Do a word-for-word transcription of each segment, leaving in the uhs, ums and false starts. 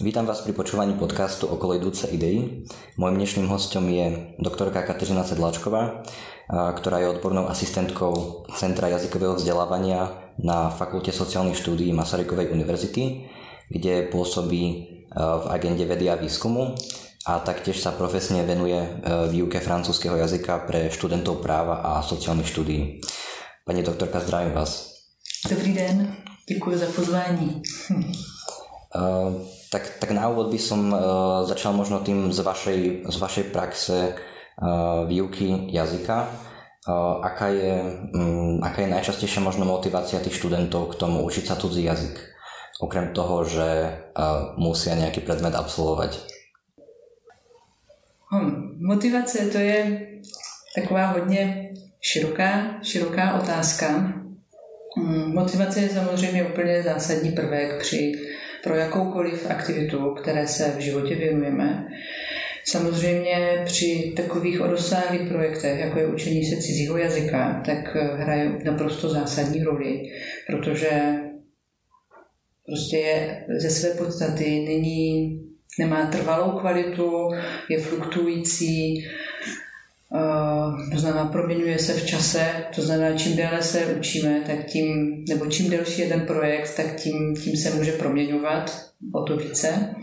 Vítam vás pri počúvaní podcastu Okolo idúce idei. Mojím dnešným hostom je doktorka Kateřina Sedláčková, ktorá je odbornou asistentkou Centra jazykového vzdelávania na Fakulte sociálnych štúdií Masarykovej univerzity, kde pôsobí v agende vedy a výskumu a taktiež sa profesne venuje výuke francúzskeho jazyka pre študentov práva a sociálnych štúdií. Pani doktorka, zdravím vás. Dobrý den, děkuji za pozvání. Uh, tak, tak na úvod by som uh, začal možno tým z vašej, z vašej praxe uh, výuky jazyka. Uh, aká, je, um, aká je najčastejšia možno motivácia tých študentov k tomu učiť sa cudzí jazyk? Okrem toho, že uh, musia nejaký predmet absolvovať. Hmm, motivace to je taková hodně široká, široká otázka. Hmm, motivace je samozřejmě úplně zásadní prvek při pro jakoukoliv aktivitu, které se v životě věnujeme. Samozřejmě při takových rozsáhlých projektech, jako je učení se cizího jazyka, tak hraje naprosto zásadní roli, protože prostě je ze své podstaty není, nemá trvalou kvalitu, je fluktuující, to znamená, proměňuje se v čase, to znamená, čím déle se učíme, tak tím, nebo čím delší je ten projekt, tak tím, tím se může proměňovat o to více.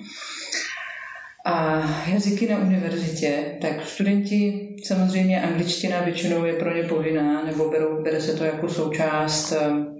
A jazyky na univerzitě, tak studenti, samozřejmě angličtina většinou je pro ně povinná, nebo berou, bere se to jako součást,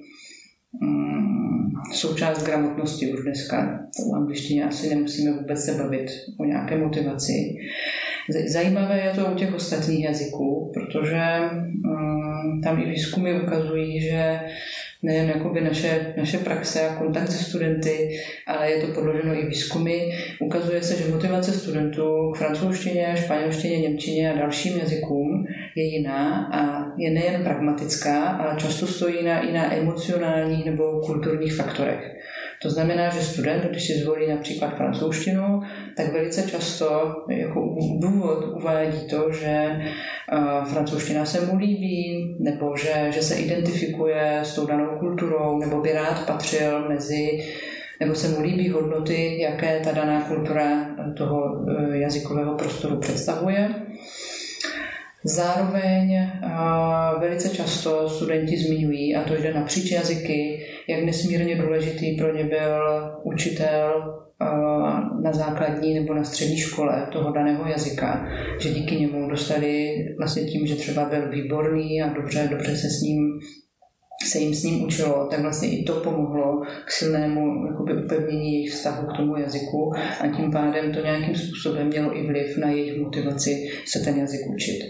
um, součást gramotnosti už dneska. O angličtině asi nemusíme vůbec se bavit o nějaké motivaci. Zajímavé je to u těch ostatních jazyků, protože um, tam i výzkumy ukazují, že nejen jakoby naše, naše praxe a kontakt se studenty, ale je to podloženo i výzkumy. Ukazuje se, že motivace studentů k francouzštině, španělštině, němčině a dalším jazykům je jiná a je nejen pragmatická, ale často stojí na, i na emocionálních nebo kulturních faktorech. To znamená, že student, když si zvolí například francouzštinu, tak velice často jako důvod uvádí to, že uh, francouzština se mu líbí, nebo že, že se identifikuje s tou danou kulturou, nebo by rád patřil mezi, nebo se mu líbí hodnoty, jaké ta daná kultura toho uh, jazykového prostoru představuje. Zároveň uh, velice často studenti zmiňují, a to jde napříč jazyky, jak nesmírně důležitý pro ně byl učitel uh, na základní nebo na střední škole toho daného jazyka, že díky němu dostali vlastně tím, že třeba byl výborný a dobře, dobře se s ním se jim s ním učilo, tak vlastně i to pomohlo k silnému jakoby, upevnění jejich vztahu k tomu jazyku a tím pádem to nějakým způsobem mělo i vliv na jejich motivaci se ten jazyk učit.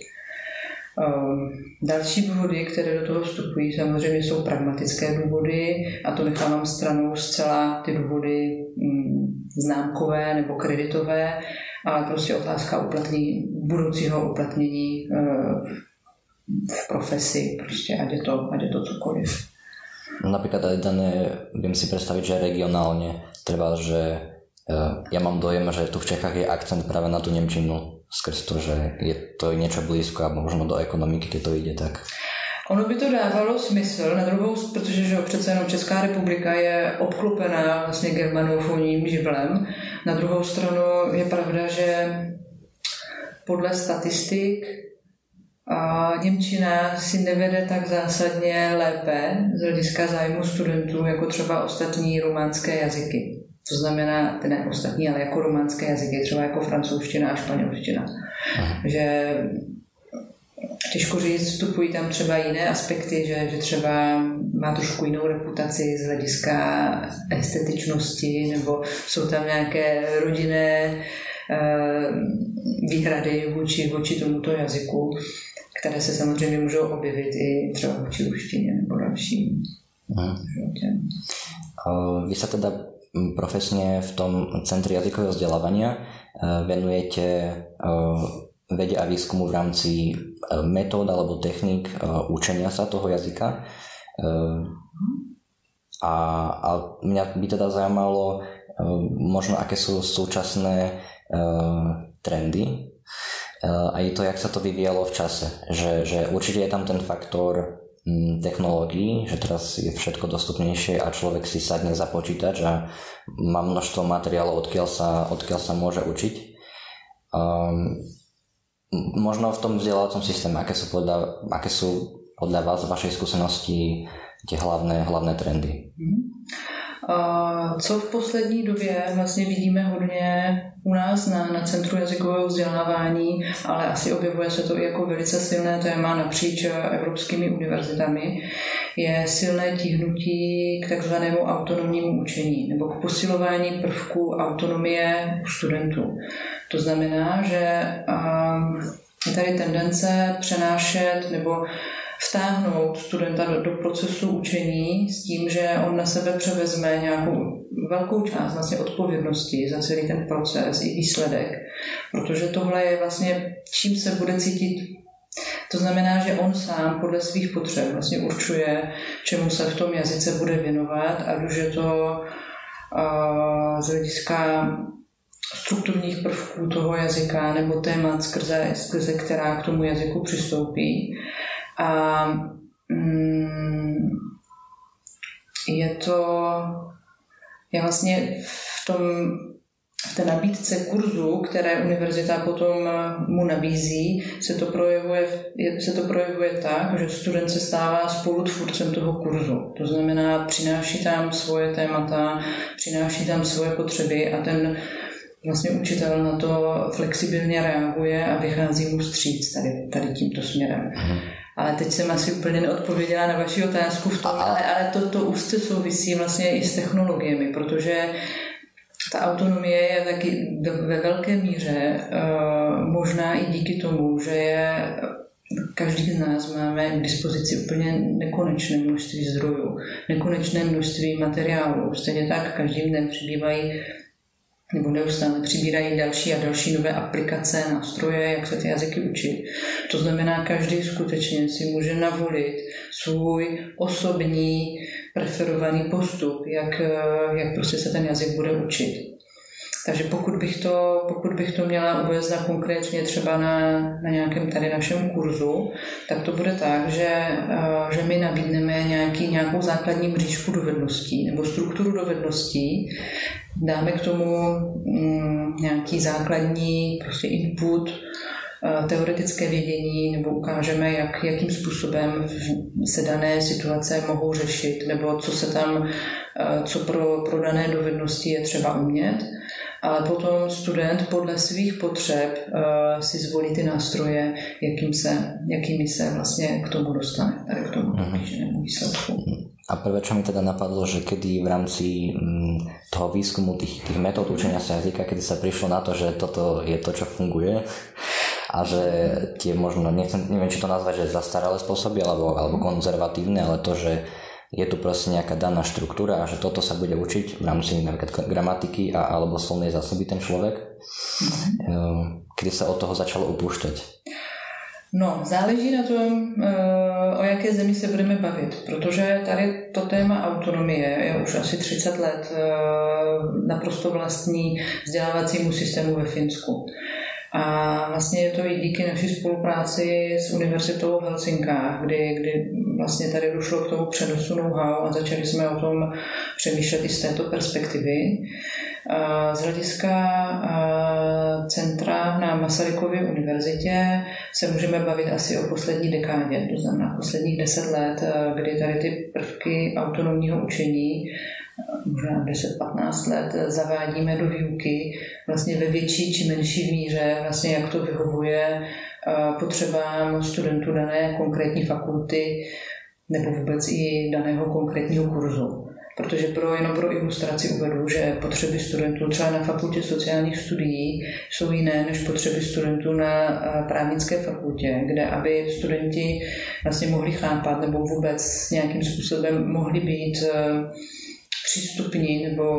Další důvody, které do toho vstupují, samozřejmě jsou pragmatické důvody a to nechávám stranou zcela ty důvody známkové nebo kreditové, ale prostě otázka uplatnění, budoucího uplatnění v profesi, prostě ať je to, ať je to cokoliv. Napríklad aj dané, viem si predstaviť, že regionálne treba, že ja mám dojem, že tu v Čechách je akcent práve na tú nemčinu skrz to, že je to niečo blízko a možno do ekonomiky, keď to ide tak. Ono by to dávalo smysl, na druhou, protože že přece jenom Česká republika je obklopená vlastně germanofonním živlem. Na druhou stranu je pravda, že podle statistik a němčina si nevede tak zásadně lépe z hlediska zájmu studentů jako třeba ostatní románské jazyky. To znamená, ty ne ostatní, ale jako románské jazyky, třeba jako francouzština a španělština. Že těžko říct, vstupují tam třeba jiné aspekty, že, že třeba má trošku jinou reputaci z hlediska estetičnosti, nebo jsou tam nějaké rodinné uh, výhrady vůči, vůči tomuto jazyku, které se samozřejmě můžou objevit i třeba vůči ruštině nebo dalším. Uh, vy sa teda profesne v tom Centri jazykového vzdelávania venujete vede a výskumu v rámci metód alebo techník učenia sa toho jazyka. A, a mňa by teda zaujímalo možno, aké sú súčasné trendy a je to, jak sa to vyvíjalo v čase. Že, že určite je tam ten faktor technológií, že teraz je všetko dostupnejšie a človek si sadne za počítač a má množstvo materiálov, odkiaľ sa, odkiaľ sa môže učiť. Um, možno v tom vzdelávacom systéme, aké sú podľa, aké sú podľa vás, vašej skúsenosti, tie hlavné, hlavné trendy? Co v poslední době vlastně vidíme hodně u nás na, na Centru jazykového vzdělávání, ale asi objevuje se to i jako velice silné téma napříč evropskými univerzitami, je silné tíhnutí k takzvanému autonomnímu učení nebo k posilování prvků autonomie u studentů. To znamená, že je tady tendence přenášet nebo vtáhnout studenta do, do procesu učení s tím, že on na sebe převezme nějakou velkou část vlastně odpovědnosti za celý ten proces i výsledek, protože tohle je vlastně, čím se bude cítit. To znamená, že on sám podle svých potřeb vlastně určuje, čemu se v tom jazyce bude věnovat, ať už je to uh, z hlediska strukturních prvků toho jazyka nebo témat, skrze, skrze která k tomu jazyku přistoupí. A mm, je to, je vlastně v tom, v té nabídce kurzu, které univerzita potom mu nabízí, se to projevuje, se to projevuje tak, že student se stává spolutvůrcem toho kurzu. To znamená, přináší tam svoje témata, přináší tam svoje potřeby a ten vlastně učitel na to flexibilně reaguje a vychází mu vstříc tady, tady tímto směrem. Ale teď jsem asi úplně neodpověděla na vaši otázku v tom, ale, ale to, to úzce souvisí vlastně i s technologiemi, protože ta autonomie je taky ve velké míře možná i díky tomu, že je každý z nás máme k dispozici úplně nekonečné množství zdrojů, nekonečné množství materiálů. Stejně tak každým dnem přibývají nebo neustále přibírají další a další nové aplikace, nástroje, jak se ty jazyky učit. To znamená, každý skutečně si může navolit svůj osobní preferovaný postup, jak, jak prostě se ten jazyk bude učit. Takže pokud bych to, pokud bych to měla uvést na konkrétně třeba na, na nějakém tady našem kurzu, tak to bude tak, že, že my nabídneme nějaký, nějakou základní mřížku dovedností nebo strukturu dovedností, dáme k tomu mm, nějaký základní prostě input, teoretické vědění nebo ukážeme, jak, jakým způsobem se dané situace mohou řešit nebo co se tam, co pro, pro dané dovednosti je třeba umět. Ale potom student podle svých potřeb uh, si zvolí ty nástroje, jakým se, jakými se vlastně k tomu dostane, tady k tomu kýženému výsledku. A prvé, čo mi teda napadlo, že kedy v rámci mm, toho výskumu tých, tých metód učenia sa jazyka, kedy sa prišlo na to, že toto je to, čo funguje a že tie možno, nechcem, neviem, či to nazvať, že zastaralé spôsoby alebo, alebo konzervatívne, ale to, že je tu proste nejaká daná štruktúra a že toto sa bude učiť v rámci napríklad gramatiky a, alebo slovnej zásoby ten človek. Mm. Kedy sa od toho začalo upúšťať? No, záleží na tom, o jaké zemi se budeme bavit, protože tady to téma autonomie je už asi třicet let naprosto vlastní vzdělávacímu systému ve Finsku. A vlastně je to i díky naší spolupráci s univerzitou v Helsinkách, kdy, kdy vlastně tady došlo k tomu přenosu know-how a začali jsme o tom přemýšlet i z této perspektivy. Z hlediska centra na Masarykově univerzitě se můžeme bavit asi o poslední dekádě, to znamená posledních deset let, kdy tady ty prvky autonomního učení možná deset patnáct let zavádíme do výuky vlastně ve větší či menší míře, vlastně jak to vyhovuje potřebám studentů dané konkrétní fakulty nebo vůbec i daného konkrétního kurzu. Protože pro, jenom pro ilustraci uvedu, že potřeby studentů třeba na fakultě sociálních studií jsou jiné než potřeby studentů na právnické fakultě, kde aby studenti vlastně mohli chápat nebo vůbec nějakým způsobem mohli být přístupní nebo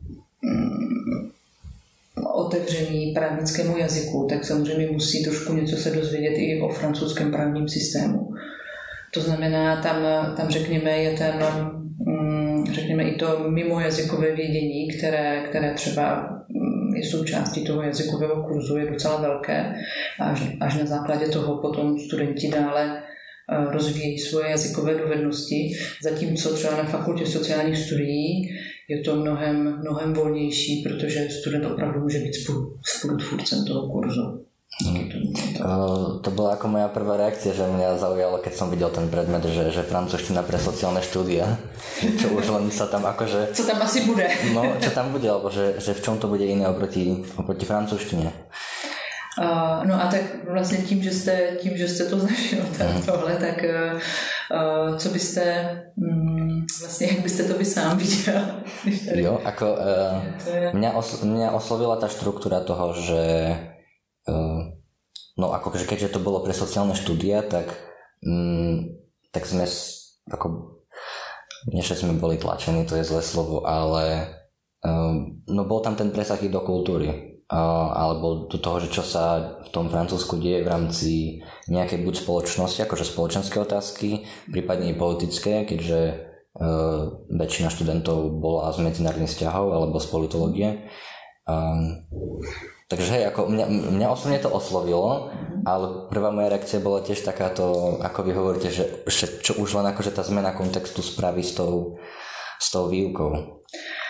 mm, otevření právnickému jazyku, tak samozřejmě musí trošku něco se dozvědět i o francouzském právním systému. To znamená, tam, tam řekněme, je ten, mm, řekněme, i to mimojazykové vědění, které, které třeba je součástí toho jazykového kurzu, je docela velké. Až, až na základě toho potom studenti dále rozvíjejí svoje jazykové dovednosti, zatímco třeba na fakultě sociálních studií je to mnohem, mnohem volnější, protože student opravdu může být spolutvůrcem toho kurzu. Hmm. To, to bola ako moja prvá reakcia, že mňa zaujalo, keď som videl ten predmet, že, že francúzština pre sociálne štúdia, čo už len sa tam akože... Co tam asi bude? No, čo tam bude, alebo že, že v čom to bude iné oproti, oproti francúzštine. Uh, no a tak vlastně tím, že jste, tím, že jste to zažil, tak mm. tohle, tak uh, co byste, um, vlastně jak byste to vy sám viděl? Jo, ako uh, je... mňa, os, mňa oslovila tá štruktúra toho, že uh, no ako keďže to bolo pre sociálne štúdia, tak um, tak sme ako nie, že sme boli tlačení, to je zlé slovo, ale um, no bol tam ten presah i do kultúry. Uh, alebo do toho, že čo sa v tom Francúzsku deje v rámci nejakej buď spoločnosti, akože spoločenské otázky, prípadne i politické, keďže uh, väčšina študentov bola z medzinárodných vzťahov alebo z politológie. Um, takže hej, ako mňa, mňa osobne to oslovilo, ale prvá moja reakcia bola tiež takáto, ako vy hovoríte, že, že čo už len akože tá zmena kontextu spraví s tou, s tou výukou.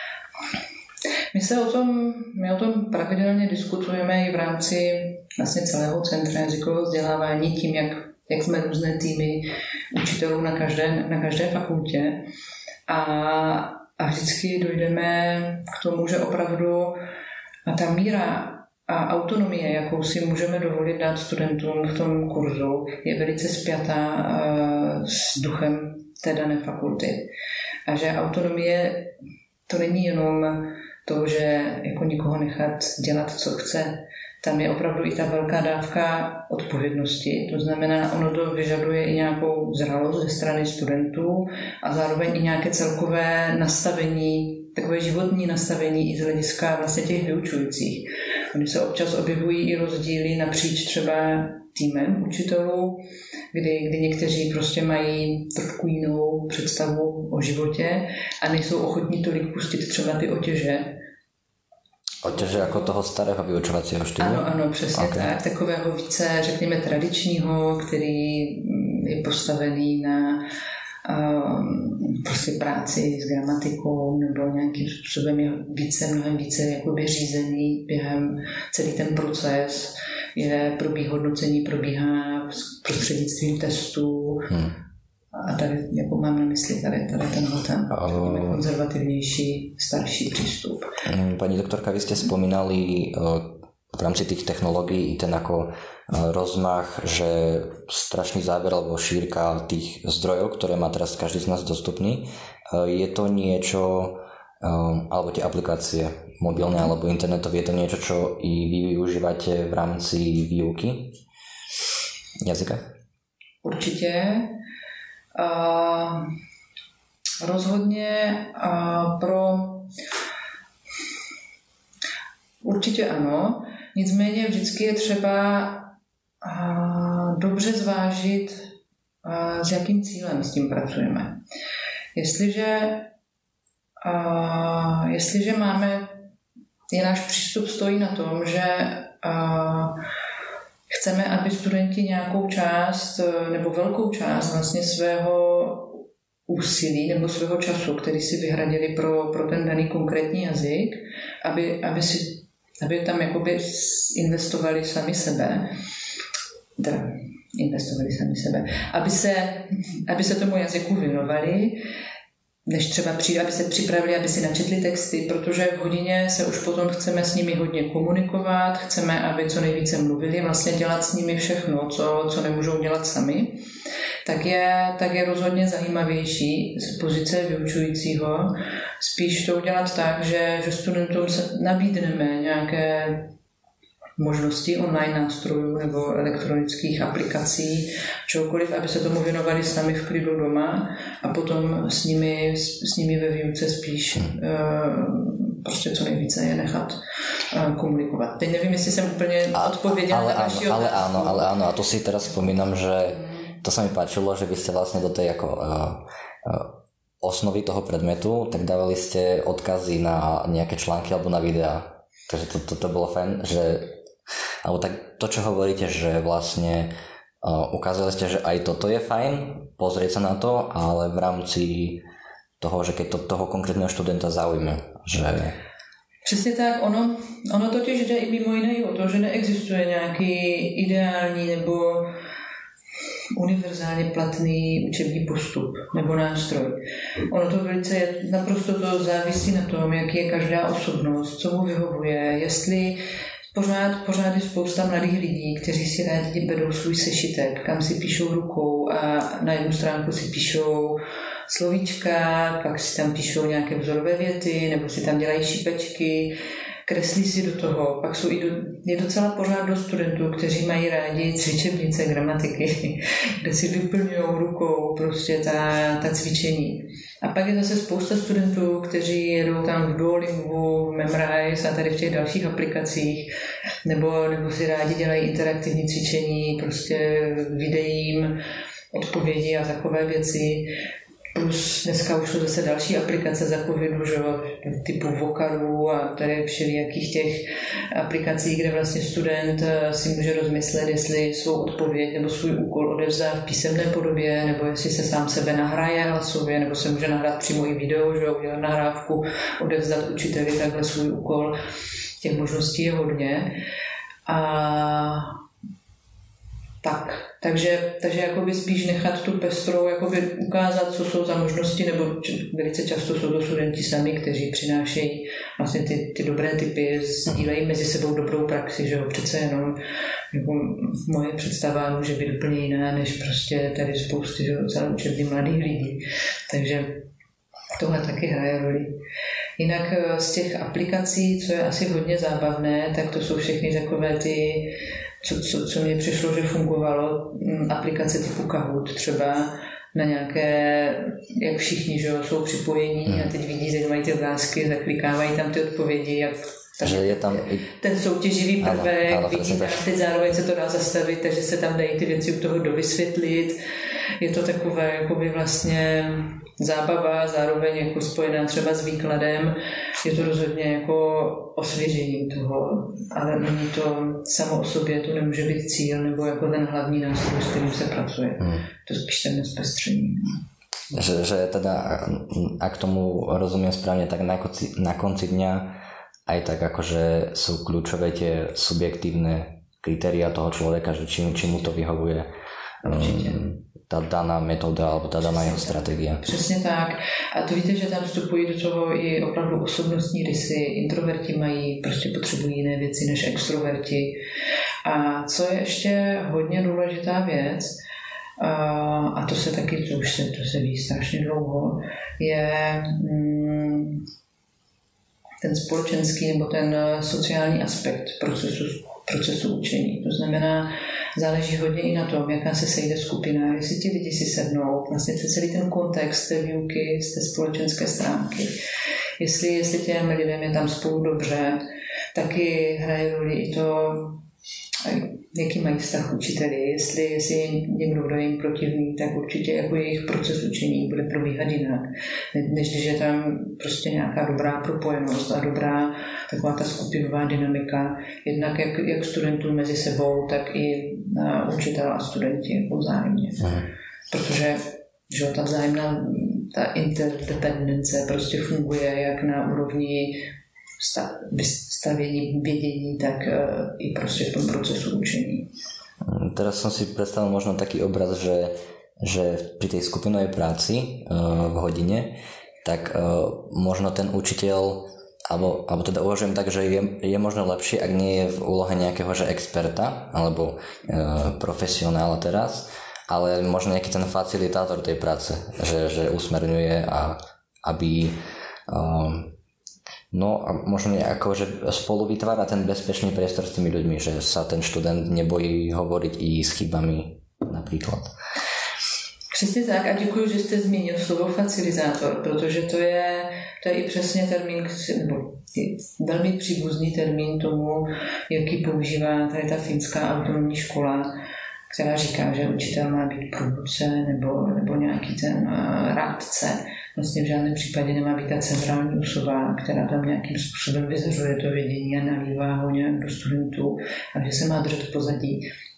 My se o tom, my o tom pravidelně diskutujeme i v rámci vlastně celého centra jazykového vzdělávání tím, jak, jak jsme různé týmy učitelů na každé, na každé fakultě a, a vždycky dojdeme k tomu, že opravdu ta míra a autonomie, jakou si můžeme dovolit dát studentům v tom kurzu, je velice spjatá s duchem té dané fakulty. A že autonomie to není jenom to, že jako nikoho nechat dělat, co chce. Tam je opravdu i ta velká dávka odpovědnosti. To znamená, ono to vyžaduje i nějakou zralost ze strany studentů a zároveň i nějaké celkové nastavení, takové životní nastavení i z hlediska vlastně těch vyučujících. Oni se občas objevují i rozdíly napříč třeba týmem učitelů, kdy, kdy někteří prostě mají trošku jinou představu o životě a nejsou ochotní tolik pustit třeba ty otěže. Otěže jako toho starého vyučovacího štýlu? Ano, ano, přesně okay. Tak. Takového více, řekněme, tradičního, který je postavený na um, prostě práci s gramatikou nebo nějakým způsobem je více, mnohem více jakoby řízený během celý ten proces. Je probíhá hodnocení, probíhá prostřednictvím testů hmm. a tady jako mám na mysli tady, tady tenhle ten uh, konzervativnější, starší přístup. Pani doktorka, vy ste spomínali uh, v rámci tých technológií ten ako uh, rozmach, že strašný záber alebo šírka tých zdrojov, ktoré má teraz každý z nás dostupný. Uh, je to niečo, um, alebo tie aplikácie mobilné alebo internetové, je to niečo, čo i vy využívate v rámci výuky jazyka? Určitě. Uh, rozhodně uh, pro určitě ano, nicméně vždycky je třeba uh, dobře zvážit, uh, s jakým cílem s tím pracujeme. Jestliže uh, jestliže máme, je náš přístup stojí na tom, že uh, chceme, aby studenti nějakou část nebo velkou část vlastně svého úsilí nebo svého času, který si vyhradili pro, pro ten daný konkrétní jazyk, aby, aby, si, aby tam jakoby investovali sami sebe, teda investovali sami sebe, aby se, aby se tomu jazyku věnovali, než třeba přijde, aby se připravili, aby si načetli texty, protože v hodině se už potom chceme s nimi hodně komunikovat, chceme, aby co nejvíce mluvili, vlastně dělat s nimi všechno, co, co nemůžou dělat sami, tak je, tak je rozhodně zajímavější z pozice vyučujícího spíš to udělat tak, že, že studentům nabídneme nějaké možnosti online nástrojů nebo elektronických aplikací, čokoliv, aby se tomu věnovali sami v klidu doma a potom s nimi, s nimi ve výuce spíš uh, prostě co nejvíce je nechat uh, komunikovat. Teď nevím, jestli jsem úplně odpověděla na vaši otázku. Ale áno, ale áno, a to si teraz spomínam, že to sa mi páčilo, že vy ste vlastne do tej ako uh, uh, osnovy toho predmetu, tak dávali ste odkazy na nejaké články alebo na videá. Takže to, to, to bolo fajn, že alebo tak to, čo hovoríte, že vlastne ukázali ste, že aj toto je fajn, pozrieť sa na to, ale v rámci toho, že keď to toho konkrétneho študenta zaujme, že... Přesně tak, ono, ono totiž jde i mimo jiné o to, že neexistuje nějaký ideální nebo univerzálně platný učební postup nebo nástroj. Ono to velice, naprosto to závisí na tom, jak je každá osobnost, co mu vyhovuje, jestli Pořád, pořád je spousta mladých lidí, kteří si rádi berou svůj sešitek, kam si píšou rukou a na jednu stránku si píšou slovíčka, pak si tam píšou nějaké vzorové věty, nebo si tam dělají šipečky, kreslí si do toho. Pak jsou i do, je docela pořád do studentů, kteří mají rádi cvičebnice gramatiky, kde si vyplňují rukou prostě ta, ta cvičení. A pak je zase spousta studentů, kteří jedou tam v Duolingu, v Memrise a tady v těch dalších aplikacích, nebo, nebo si rádi dělají interaktivní cvičení, prostě videím, odpovědi a takové věci. Plus dneska už jsou zase další aplikace za covidu, že, typu Vokaru a tady všelijakých těch aplikací, kde vlastně student si může rozmyslet, jestli svou odpověď nebo svůj úkol odevzdá v písemné podobě, nebo jestli se sám sebe nahraje hlasově, nebo se může nahrát přímo i video, že udělat nahrávku, odevzdat učiteli takhle svůj úkol. Těch možností je hodně. A tak, takže, takže jakoby spíš nechat tu pestrou, jakoby ukázat, co jsou za možnosti, nebo velice často jsou to studenti sami, kteří přinášejí vlastně ty, ty dobré typy, sdílejí mezi sebou dobrou praxi, že jo, přece jenom jako moje představa může být úplně jiná, než prostě tady spousty, že jo, celé učební mladých lidí, takže tohle taky hraje roli. Jinak z těch aplikací, co je asi hodně zábavné, tak to jsou všechny takové ty Co, co, co mě přišlo, že fungovalo, aplikace typu Kahoot třeba na nějaké, jak všichni, že jsou připojení hmm. a teď vidí, že mají ty obrázky, zaklikávají tam ty odpovědi, jak tam, je tam ten soutěživý prvek, ano, ano, vidí tam, teď zároveň se to dá zastavit, takže se tam dají ty věci u toho dovysvětlit. Je to takové jakoby vlastně zábava, zároveň jako spojená třeba s výkladem. Je to rozhodně jako osvěžení toho, ale není to samo o sobě, to nemůže být cíl nebo jako ten hlavní nástroj, s kterým se pracuje. Hmm. To spíš ten zpestření. Že, že teda, ak tomu rozumiem správne, tak na konci, na konci dňa aj tak akože sú kľúčové tie subjektívne kritéria toho človeka, že či, či mu to vyhovuje. Určitě. Ta daná metoda alebo ta daná jeho strategie. Přesně tak. A to víte, že tam vstupují do toho i opravdu osobnostní rysy. Introverti mají, prostě potřebují jiné věci než extroverti. A co je ještě hodně důležitá věc, a to se taky, to už se, to se ví strašně dlouho, je mm, ten společenský nebo ten sociální aspekt procesu, procesu učení. To znamená, záleží hodně i na tom, jaká se sejde skupina, jestli ti lidi si sednou, vlastně celý ten kontext té výuky z té společenské stránky. Jestli, jestli těm lidem je tam spolu dobře, taky hraje roli i to, jaký mají vztah učiteli. Jestli, jestli je někdo, kdo je jim protivný, tak určitě jako jejich proces učení bude probíhat jinak, než když je tam prostě nějaká dobrá propojenost a dobrá taková ta skupinová dynamika, jednak jak, jak studentů mezi sebou, tak i učitel a studenti vzájemně. Protože že ta vzájemná ta interdependence prostě funguje jak na úrovni vystavění vědění, tak i prostě v tom procesu učení. Teraz som si predstavil možno taký obraz, že, že pri tej skupinovej práci v hodine, tak možno ten učiteľ, alebo, alebo teda uvažujem tak, že je, je možno lepšie, ak nie je v úlohe nejakého že experta alebo profesionála teraz, ale možno nejaký ten facilitátor tej práce, že, že usmerňuje a aby no a možno nejako, že spolu vytvára ten bezpečný priestor s tými ľuďmi, že sa ten študent nebojí hovoriť i s chybami například. Přesně tak a děkuji, že jste zmínil slovo facilitátor, protože to je, to je i přesně termín, nebo velmi příbuzný termín tomu, jaký používá tady ta finská autonomní škola, která říká, že učitel má být průvodce nebo, nebo nějaký ten uh, rádce. Vlastně v žádném případě nemá být ta centrální osoba, která tam nějakým způsobem vyzařuje to vědění a nalívá ho nějak do studentů, a že se má držet v pozadí.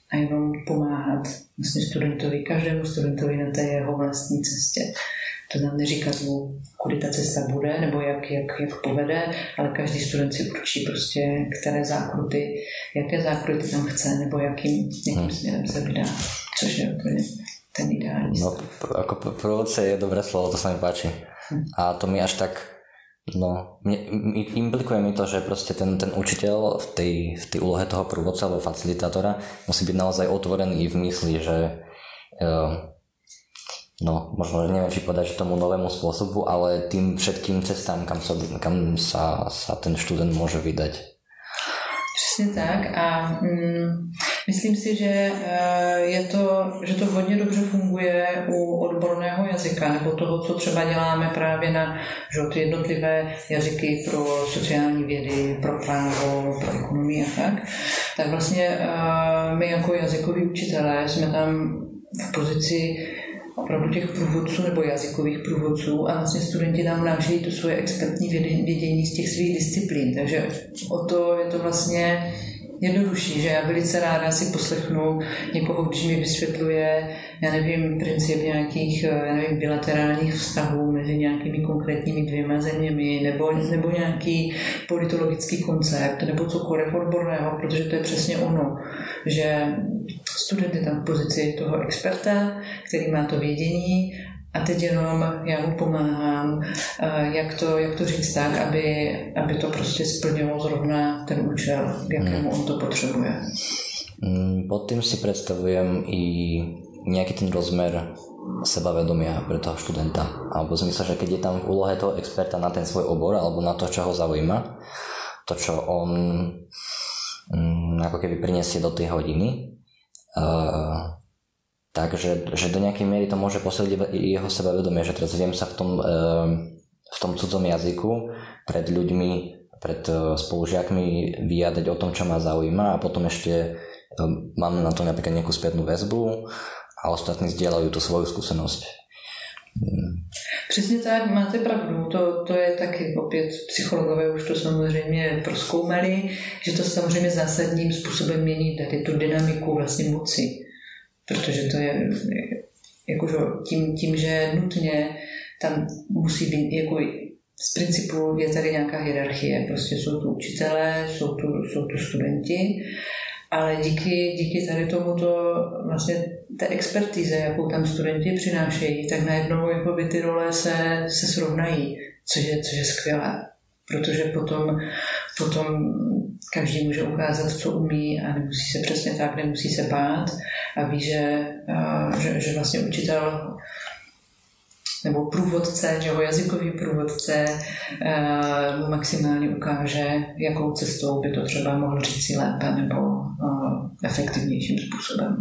a jenom pomáhat vlastně studentovi, každému studentovi na té jeho vlastní cestě. To nám neříkat mu, kudy ta cesta bude, nebo jak, jak, jak povede, ale každý student si určí prostě, které zákruty, jaké zákruty tam chce, nebo jakým, jakým směrem se vydá, což je úplně ten ideální stav. No, ako průvodce je dobré slovo, to sa mi páči. Hm. A to mi až tak, no, implikuje mi to, že proste ten, ten učiteľ v tej, v tej úlohe toho průvodce alebo facilitátora musí byť naozaj otvorený v mysli, že uh, no, možno, že neviem, či povedať, že tomu novému spôsobu, ale tým všetkým cestám, kam sa, kam sa, sa ten študent môže vydať. Přesně tak a mm, myslím si, že, je to, že to hodně dobře funguje u odborného jazyka nebo toho, co třeba děláme právě na že, ty jednotlivé jazyky pro sociální vědy, pro právo, pro ekonomii a tak. Tak vlastně my jako jazykoví učitelé jsme tam v pozici opravdu těch průvodců nebo jazykových průvodců a vlastně studenti tam vnášejí to svoje expertní vědění z těch svých disciplín. Takže o to je to vlastně jednodušší, že já velice ráda si poslechnu někoho, když mi vysvětluje, já nevím, princip nějakých, já nevím, bilaterálních vztahů mezi nějakými konkrétními dvěma zeměmi nebo, nebo nějaký politologický koncept nebo cokoliv odborného, protože to je přesně ono, že student je tam v pozici toho experta, který má to vědění a teď jenom já mu pomáhám, jak to, jak to říct tak, aby, aby to prostě splnilo zrovna ten účel, k jakému on to potřebuje. Pod tým si predstavujem i nejaký ten rozmer sebavedomia pre toho študenta. Alebo v zmysle, že keď je tam v úlohe toho experta na ten svoj obor alebo na to, čo ho zaujíma, to, čo on um, ako keby prinesie do tej hodiny, uh, takže že do nejakej miery to môže posiliť jeho sebavedomie, že teraz viem sa v tom, uh, v tom cudzom jazyku pred ľuďmi, pred uh, spolužiakmi vyjadriť o tom, čo ma zaujíma a potom ešte um, mám na to napríklad nejakú spätnú väzbu a ostatní zdieľajú tú svoju skúsenosť. Přesně tak, máte pravdu, to, to je taky opět psychologové už to samozřejmě prozkoumali, že to samozřejmě zásadním způsobem mění tady tu dynamiku vlastně moci, protože to je jakože tím, tím, že nutně tam musí být jako z principu je tady nějaká hierarchie, prostě jsou tu učitelé, jsou tu, jsou tu studenti, ale díky, díky tady tomuto vlastně té expertíze, jakou tam studenti přinášejí, tak najednou jakoby ty role se, se srovnají, což je, což je skvělé, protože potom, potom každý může ukázat, co umí a nemusí se přesně tak, nemusí se bát a ví, že, že, že vlastně učitel nebo průvodce, že ho jazykový průvodce mu maximálně ukáže, jakou cestou by to třeba mohl říct si lépe nebo efektivnějším způsobem.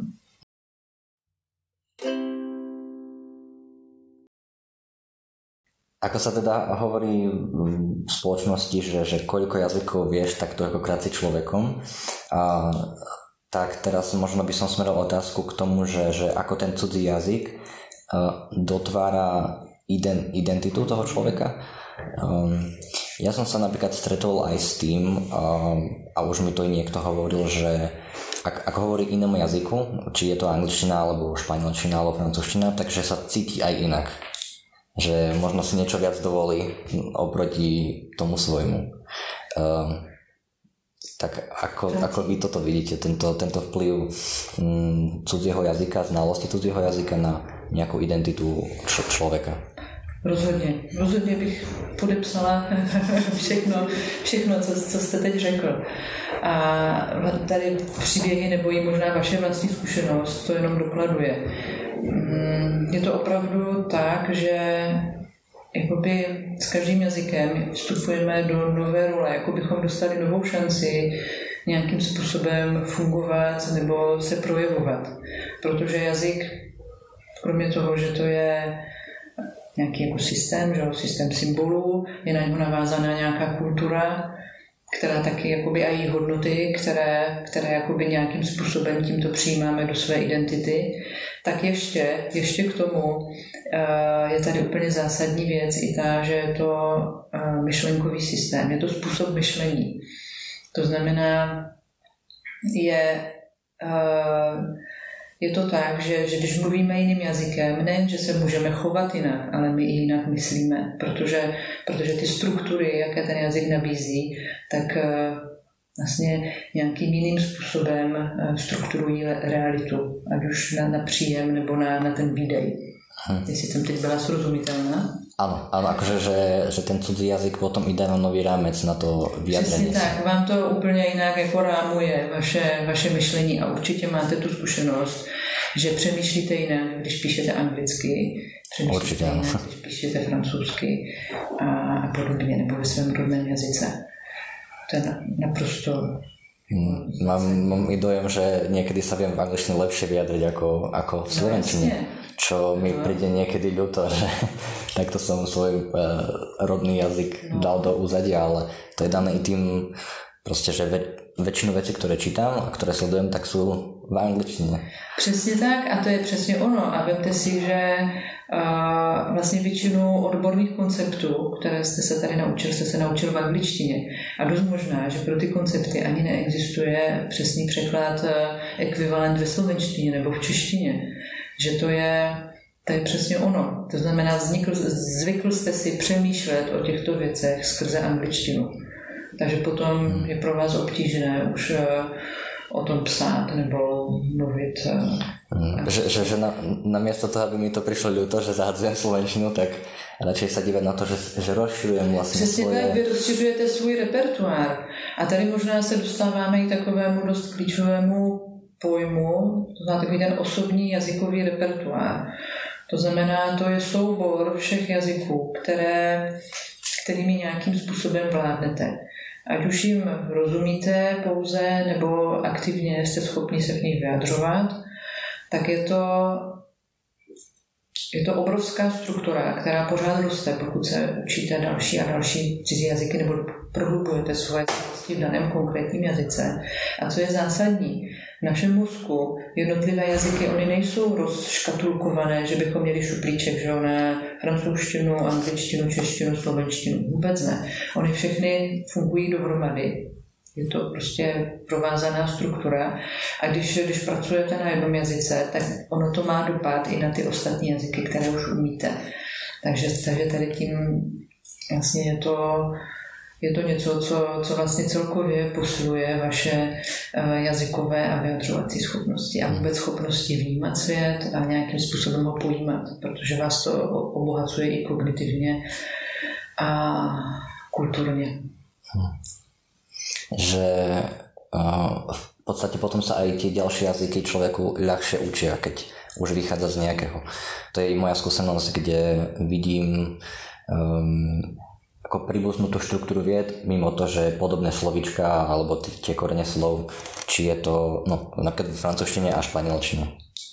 Ako sa teda hovorí v spoločnosti, že, že koľko jazykov vieš, tak toľkokrát si človekom. A, tak teraz možno by som smeroval otázku k tomu, že, že ako ten cudzí jazyk uh, dotvára ident, identitu toho človeka. Um, ja som sa napríklad stretol aj s tým, um, a už mi to i niekto hovoril, že ak, ak hovorí inom jazyku, či je to angličtina, alebo španielčina, alebo francúzština, takže sa cíti aj inak. Že možno si niečo viac dovolí oproti tomu svojmu. Um, tak ako, ako vy toto vidíte, tento, tento vplyv um, cudzieho jazyka, znalosti cudzieho jazyka na nejakú identitu č- človeka? Rozhodně. Rozhodně bych podepsala všechno, všechno co, co jste teď řekl. A tady příběhy nebo i možná vaše vlastní zkušenost to jenom dokladuje. Je to opravdu tak, že jakoby s každým jazykem vstupujeme do nové role, jako bychom dostali novou šanci nějakým způsobem fungovat nebo se projevovat. Protože jazyk, kromě toho, že to je nějaký jako systém, že? Systém symbolů, je na něho navázaná nějaká kultura, která taky jakoby a její hodnoty, které, které jakoby nějakým způsobem tímto přijímáme do své identity, tak ještě, ještě k tomu uh, je tady úplně zásadní věc i ta, že je to uh, myšlenkový systém, je to způsob myšlení. To znamená, je je to tak, že, že když mluvíme jiným jazykem, nejen, že se můžeme chovat jinak, ale my i jinak myslíme, protože, protože ty struktury, jaké ten jazyk nabízí, tak vlastně nějakým jiným způsobem strukturují realitu, ať už na, na příjem nebo na, na ten výdej. Hm. Jestli jsem teď byla srozumitelná. Áno, áno, akože, že, že ten cudzí jazyk potom ide na nový rámec na to vyjadrenie. Přesně tak, vám to úplně jinak jako rámuje vaše, vaše myšlení a určitě máte tu zkušenost, že přemýšlíte jinak, když píšete anglicky, přemýšlíte určitě, jinak, když píšete francouzsky a, a podobně, nebo ve svém rodném jazyce. To je naprosto... Hmm, mám, mám i dojem, že niekedy sa viem v angličtine lepšie vyjadriť ako, ako v slovenčine, čo mi no. príde niekedy ľúto, že takto som svoj uh, rodný jazyk no. dal do úzadia, ale to je dané i tým proste, že ve, väčšinu vecí, ktoré čítam a ktoré sledujem, tak sú v angličtine. Přesně tak a to je přesně ono a vemte si, že uh, vlastně většinu odborných konceptů, které jste se tady naučil, jste se naučil v angličtině a dost možná, že pro ty koncepty ani neexistuje přesný překlad uh, ekvivalent ve slovenštině nebo v češtině, že to je to je přesně ono. To znamená, vznikl, zvykl jste si přemýšlet o těchto věcech skrze angličtinu. Takže potom je pro vás obtížné už uh, o tom psát nebo mluvit. Hmm. Že, že, že na, namiesto toho, aby mi to prišlo ľúto, že zahadzujem slovenčinu, tak radšej sa dívať na to, že, že rozširujem vlastne Přesně svoje... tak, vy rozšiřujete svůj repertoár. A tady možná se dostáváme i takovému dost klíčovému pojmu, to znamená takový ten osobní jazykový repertoár. To znamená, to je soubor všech jazyků, které, kterými nějakým způsobem vládnete. Ať už jim rozumíte pouze, nebo aktivně jste schopni se v nich vyjadřovat, tak je to, je to obrovská struktura, která pořád roste, pokud se učíte další a další cizí jazyky nebo prohlubujete svoje znalosti v daném konkrétním jazyce. A co je zásadní, v našem mozku jednotlivé jazyky, oni nejsou rozškatulkované, že bychom měli šuplíček, že na francouzštinu, angličtinu, češtinu, slovenštinu. Vůbec ne. Oni všechny fungují dohromady. Je to prostě provázaná struktura. A když, když pracujete na jednom jazyce, tak ono to má dopad i na ty ostatní jazyky, které už umíte. Takže, takže tady tím vlastně je to... Je to něco, co, co vlastně celkově posiluje vaše jazykové a vyjadřovací schopnosti a vůbec schopnosti vnímat svět a nějakým způsobem ho pojímat, protože vás to obohacuje i kognitivně a kulturně. Hm. Že uh, v podstate potom sa aj tie ďalšie jazyky človeku ľahšie učia, keď už vychádza z nejakého. To je i moja skúsenosť, kde vidím um, ako pribúsnutú štruktúru vied, mimo to, že podobné slovíčka alebo t- tie korene slov, či je to no, napríklad v francúzštine a španielčine.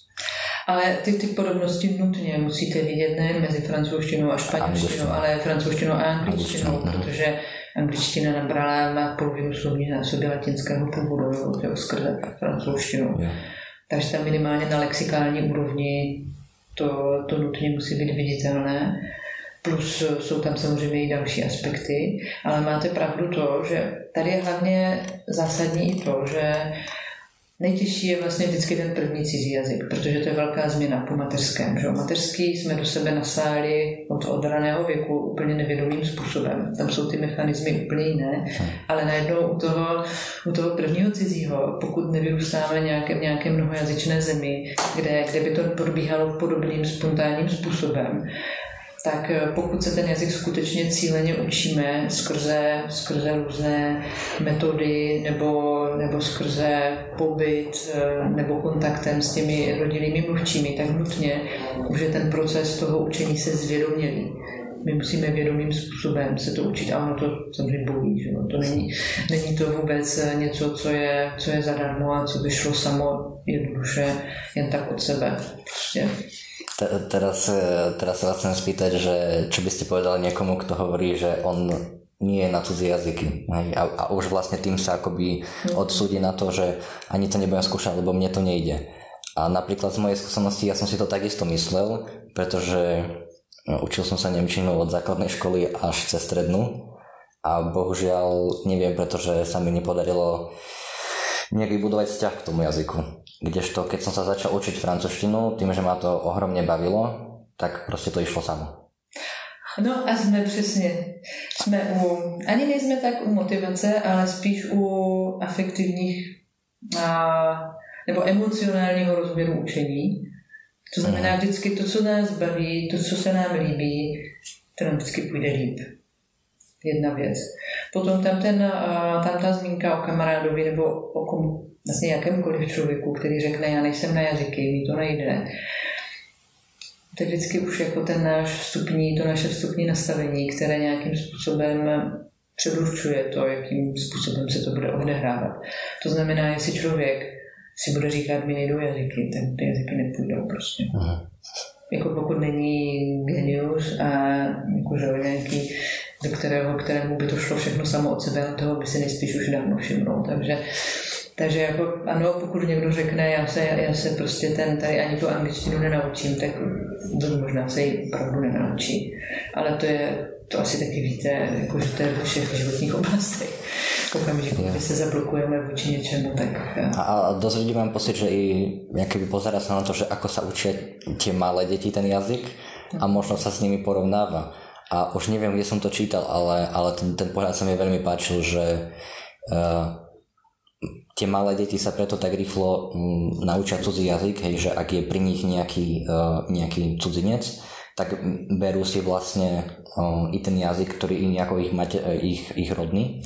Ale ty, ty podobnosti nutně musíte vidět nejen mezi francouzštinou a španělštinou, ale francouzštinou a angličtinou, protože angličtina nabrala, má polovinu slovní násoby latinského původu, jo, skrze francouzštinu. Yeah. Takže tam minimálně na lexikální úrovni to, to nutně musí být viditelné. Plus jsou tam samozřejmě i další aspekty, ale máte pravdu to, že tady je hlavně zásadní i to, že nejtěžší je vlastně vždycky ten první cizí jazyk, protože to je velká změna po mateřském. Že? Mateřský jsme do sebe nasáli od, od raného věku úplně nevědomým způsobem. Tam jsou ty mechanismy úplně jiné, ale najednou u toho, u toho prvního cizího, pokud nevyrůstáme nějaké, v nějaké mnohojazyčné zemi, kde, kde by to probíhalo podobným spontánním způsobem, tak pokud se ten jazyk skutečně cíleně učíme skrze, skrze různé metody nebo, nebo skrze pobyt nebo kontaktem s těmi rodilými mluvčími, tak nutně už je ten proces toho učení se zvědomělý. My musíme vědomým způsobem se to učit a ono to samozřejmě bolí. Že? To není, není to vůbec něco, co je, co je zadarmo a co by šlo samo jednoduše jen tak od sebe. Prostě. Teraz, teraz sa vás chcem spýtať, že čo by ste povedali niekomu, kto hovorí, že on nie je na cudzie jazyky. A, a už vlastne tým sa akoby odsúdi na to, že ani to nebudem skúšať, lebo mne to nejde. A napríklad z mojej skúsenosti ja som si to takisto myslel, pretože no, učil som sa nemčinu od základnej školy až cez strednú a bohužiaľ neviem, pretože sa mi nepodarilo nejak vybudovať vzťah k tomu jazyku. Kdežto keď som sa začal učiť francúzštinu, tým, že ma to ohromne bavilo, tak proste to išlo samo. No a jsme přesně, jsme u, ani nejsme tak u motivace, ale spíš u afektivních a, nebo emocionálního rozměru učení. To znamená vždycky to, co nás baví, to, co se nám líbí, to nám vždycky půjde líp. Jedna věc. Potom tam, ten, tam ta zmínka o kamarádovi nebo o kom, vlastně jakémkoliv člověku, který řekne, já nejsem na jazyky, mi to nejde. To je vždycky už jako ten náš vstupní, to naše vstupní nastavení, které nějakým způsobem předurčuje to, jakým způsobem se to bude odehrávat. To znamená, jestli člověk si bude říkat, mi nejdou jazyky, tak ty jazyky nepůjdou prostě. Aha. Jako pokud není genius a jakože nějaký, do kterého, kterému by to šlo všechno samo od sebe, toho by si nejspíš už dávno všimnul. Takže, takže jako, ano, pokud někdo řekne, já se, já se prostě ten, tady ani tu angličtinu nenaučím, tak to možná se ji opravdu nenaučí. Ale to je, to asi taky víte, jako, že to je ve všech životních oblastech. Okamžiku, kdy se zablokujeme vůči něčemu, tak... A, a dosť ľudí mám pocit, že i keby pozerá sa na to, že ako sa učia tie malé deti ten jazyk a možno sa s nimi porovnáva. A už neviem, kde som to čítal, ale, ale ten, ten pohľad sa mi veľmi páčil, že uh, tie malé deti sa preto tak rýchlo um, naučia cudzí jazyk, hej, že ak je pri nich nejaký, uh, nejaký cudzinec, tak berú si vlastne uh, i ten jazyk, ktorý je ako ich, mate, ich, ich rodný.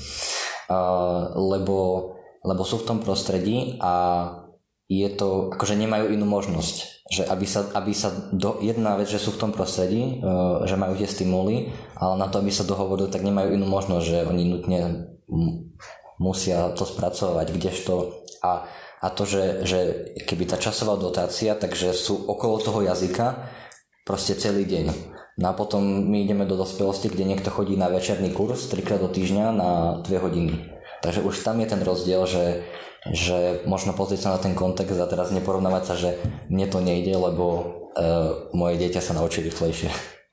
Uh, lebo, lebo sú v tom prostredí a je to, akože nemajú inú možnosť, že aby sa, aby sa do, jedna vec, že sú v tom prostredí, uh, že majú tie stimuly, ale na to, aby sa dohovorili, tak nemajú inú možnosť, že oni nutne m- musia to spracovať, kdežto a, a to, že, že keby tá časová dotácia, takže sú okolo toho jazyka proste celý deň. No a potom my ideme do dospelosti, kde niekto chodí na večerný kurz trikrát do týždňa na dve hodiny. Takže už tam je ten rozdiel, že, že možno pozrieť sa na ten kontext a teraz neporovnávať sa, že mne to nejde, lebo uh, moje dieťa sa naučí rýchlejšie.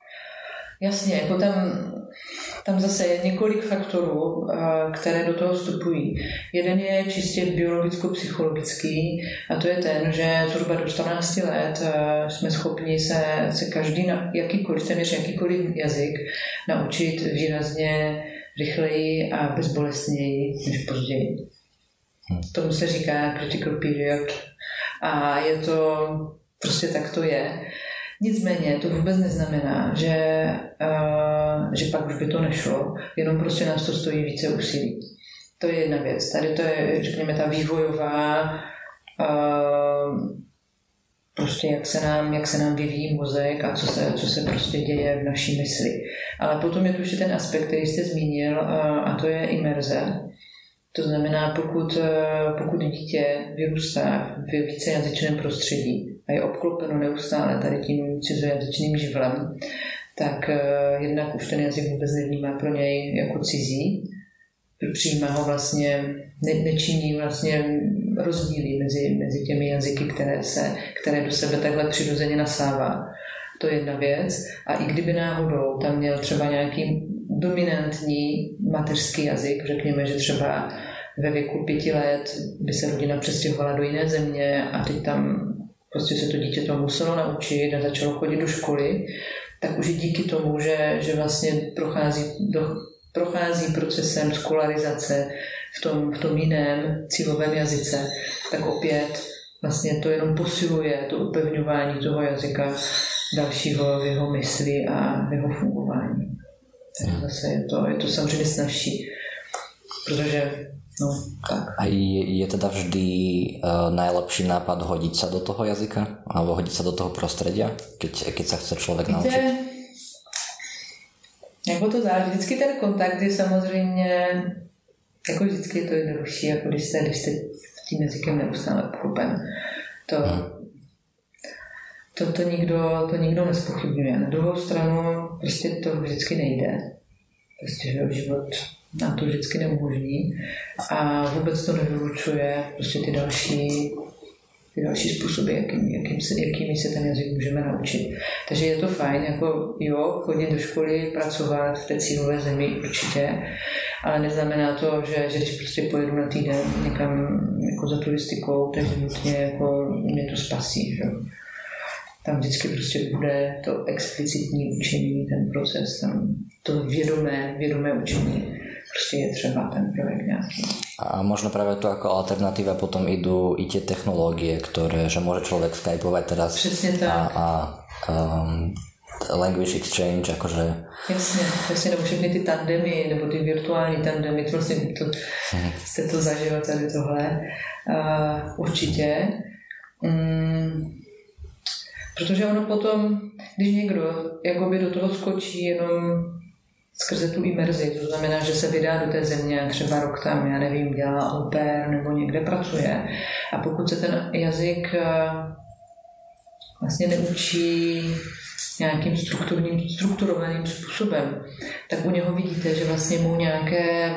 Jasně, jako tam, tam zase je několik faktorů, které do toho vstupují. Jeden je čistě biologicko-psychologický a to je ten, že zhruba do čtrnácti let jsme schopni se, se každý, jakýkoliv, téměř jakýkoliv jazyk naučit výrazně rychleji a bezbolestněji než později. Tomu se říká critical period a je to, prostě tak to je. Nicméně to vůbec neznamená, že, uh, že pak už by to nešlo, jenom prostě nás to stojí více úsilí. To je jedna věc. Tady to je, řekněme, ta vývojová, uh, prostě jak se nám, jak se nám vyvíjí mozek a co se, co se prostě děje v naší mysli. Ale potom je tu ještě ten aspekt, který jste zmínil, uh, a to je imerze. To znamená, pokud, pokud dítě vyrůstá v vícejazyčném prostředí a je obklopeno neustále tady tím cizojazyčným živlem, tak jednak už ten jazyk vůbec nevnímá pro něj jako cizí, přijímá ho vlastně, ne, nečiní vlastně rozdíly mezi, mezi těmi jazyky, které, se, které do sebe takhle přirozeně nasává. To je jedna věc. A i kdyby náhodou tam měl třeba nějaký dominantní mateřský jazyk, řekněme, že třeba ve věku pěti let by se rodina přestěhovala do jiné země a teď tam prostě se to dítě to muselo naučit a začalo chodit do školy, tak už i díky tomu, že, že vlastně prochází, do, prochází procesem skolarizace v tom, v tom jiném cílovém jazyce, tak opět vlastně to jenom posiluje to upevňování toho jazyka dalšího v jeho mysli a v jeho fungování. Takže zase je to, je to samozřejmě snazší, protože no, tak. A je, je teda vždy uh, najlepší nápad hodiť sa do toho jazyka? Alebo hodiť sa do toho prostredia, keď, keď sa chce človek naučiť? Víte, jako to záleží. Vždycky ten kontakt je samozřejmě, jako vždycky je to jednodušší, jako když jste, když jste tím jazykem neustále obklopen. To, hmm. to, to, nikdo, to nikdo nespochybňuje. Na druhou stranu prostě to vždycky nejde. Prostě že život nám to vždycky neumožní a vůbec to nevylučuje prostě ty další, ty další způsoby, jakým, jakým se, jakými se ten jazyk můžeme naučit. Takže je to fajn, jako jo, chodit do školy, pracovat v té cílové zemi určitě, ale neznamená to, že, že když prostě pojedu na týden někam jako za turistikou, takže nutně jako mě to spasí. Že? Tam vždycky prostě bude to explicitní učení, ten proces, tam to vědomé, vědomé učení. Prostě je třeba ten projekt nějaký. A možno práve to ako alternatíva potom idú i tie technológie, ktoré, že môže človek skypovať teraz. Přesně tak. A, a um, language exchange, akože... Jasně, jasně, nebo všechny ty tandemy, nebo ty virtuální tandemy, to vlastně to, hmm. jste to zažil tady tohle. Uh, určitě. Um, protože ono potom, když někdo jakoby do toho skočí jenom skrze tu imerzi, to znamená, že se vydá do té země, třeba rok tam, já nevím, dělá au pair nebo někde pracuje. A pokud se ten jazyk vlastně neučí nějakým strukturním, strukturovaným způsobem, tak u něho vidíte, že vlastně mu nějaké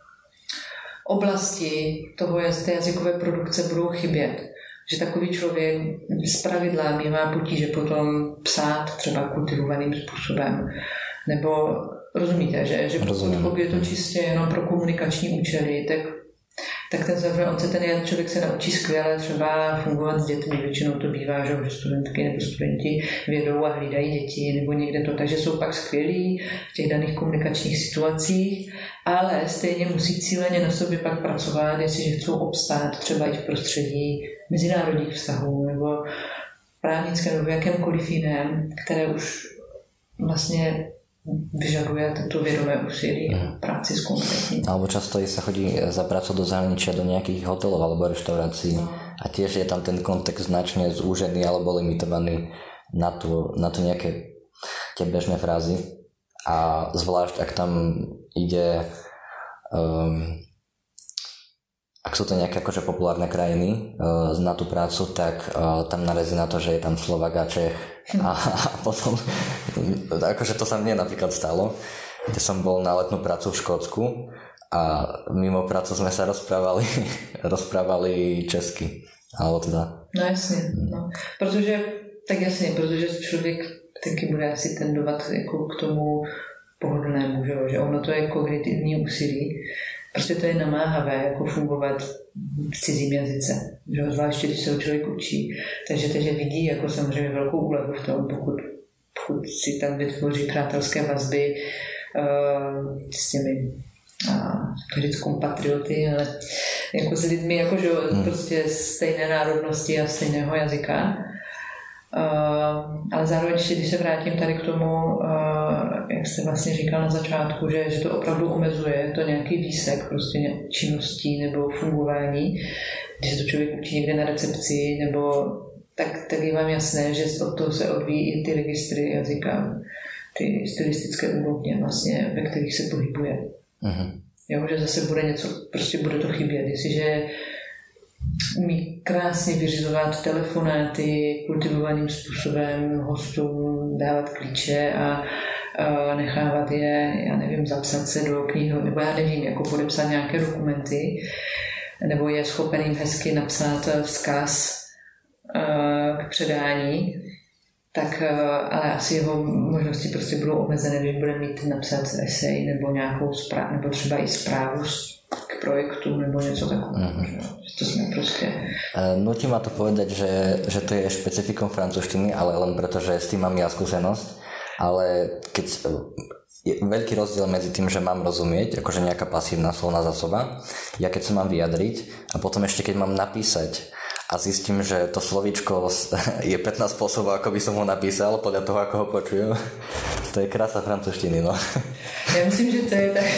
oblasti toho, té jazykové produkce budou chybět. Že takový člověk zpravidla má potíže potom psát třeba kultivovaným způsobem. Nebo rozumíte, že, že pokud je to čistě jenom pro komunikační účely, tak, tak ten, on se ten člověk se naučí skvěle třeba fungovat s dětmi. Většinou to bývá, že, že studentky nebo studenti vědou a hlídají děti nebo někde to, takže jsou pak skvělí v těch daných komunikačních situacích, ale stejně musí cíleně na sobě pak pracovat, jestliže chcou obstát třeba i v prostředí mezinárodních vztahů nebo právnické nebo jakémkoliv jiném, které už vlastně vyžaduje to vědomé úsilí a práci s konkrétním. Alebo často sa chodí za prácu do zahraničia do nejakých hotelov alebo reštaurácií no. A tiež je tam ten kontext značne zúžený alebo limitovaný na to, na to nejaké tie bežné frázy a zvlášť ak tam ide um, ak sú to nejaké akože populárne krajiny uh, na tú prácu, tak uh, tam narazí na to, že je tam Slovák a Čech a, a potom akože to sa mne napríklad stalo, kde som bol na letnú prácu v Škótsku a mimo prácu sme sa rozprávali rozprávali česky, alebo teda no jasne, no. Protože tak jasne, protože člověk taky bude asi tendovat jako k tomu pohodlnému, že, že ono to je kognitivní úsilí. Prostě to je namáhavé, jako fungovat v cizím jazyce, že? Zvláště když se ho člověk učí. Takže, takže vidí jako samozřejmě velkou úlevu v tom, pokud, pokud si tam vytvoří přátelské vazby uh, s těmi uh, říct kompatrioty, ale jako s lidmi jako, že, hmm. prostě stejné národnosti a stejného jazyka. Uh, ale zároveň, když se vrátím tady k tomu, uh, jak jste vlastně říkal na začátku, že, že to opravdu omezuje to nějaký výsek prostě činností nebo fungování, když se to člověk učí někde na recepci, nebo tak, tak je vám jasné, že od toho se odvíjí i ty registry jazyka, ty stylistické úrovně vlastně, ve kterých se pohybuje. Uh-huh. Jo, že zase bude něco, prostě bude to chybět, jestliže umí krásně vyřizovat telefonáty kultivovaným způsobem hostům, dávat klíče a, a nechávat je, já nevím, zapsat se do knihy, nebo já nevím, jako podepsat nějaké dokumenty, nebo je schopen jim hezky napsat vzkaz k předání, tak ale asi jeho možnosti prostě budou omezené, když bude mít napsat esej nebo nějakou zprávu, nebo třeba i zprávu k projektu nebo něco takového. Mm-hmm. To sme proste... Nutí ma to povedať, že, že to je špecifikom francúzštiny, ale len preto, že s tým mám ja skúsenosť. Ale keď je veľký rozdiel medzi tým, že mám rozumieť, akože nejaká pasívna slovná zásoba, ja keď sa mám vyjadriť a potom ešte keď mám napísať a zistím, že to slovíčko je pätnásť spôsobov, ako by som ho napísal, podľa toho, ako ho počujem. To je krása francúzštiny, no. Já myslím, že to je tak...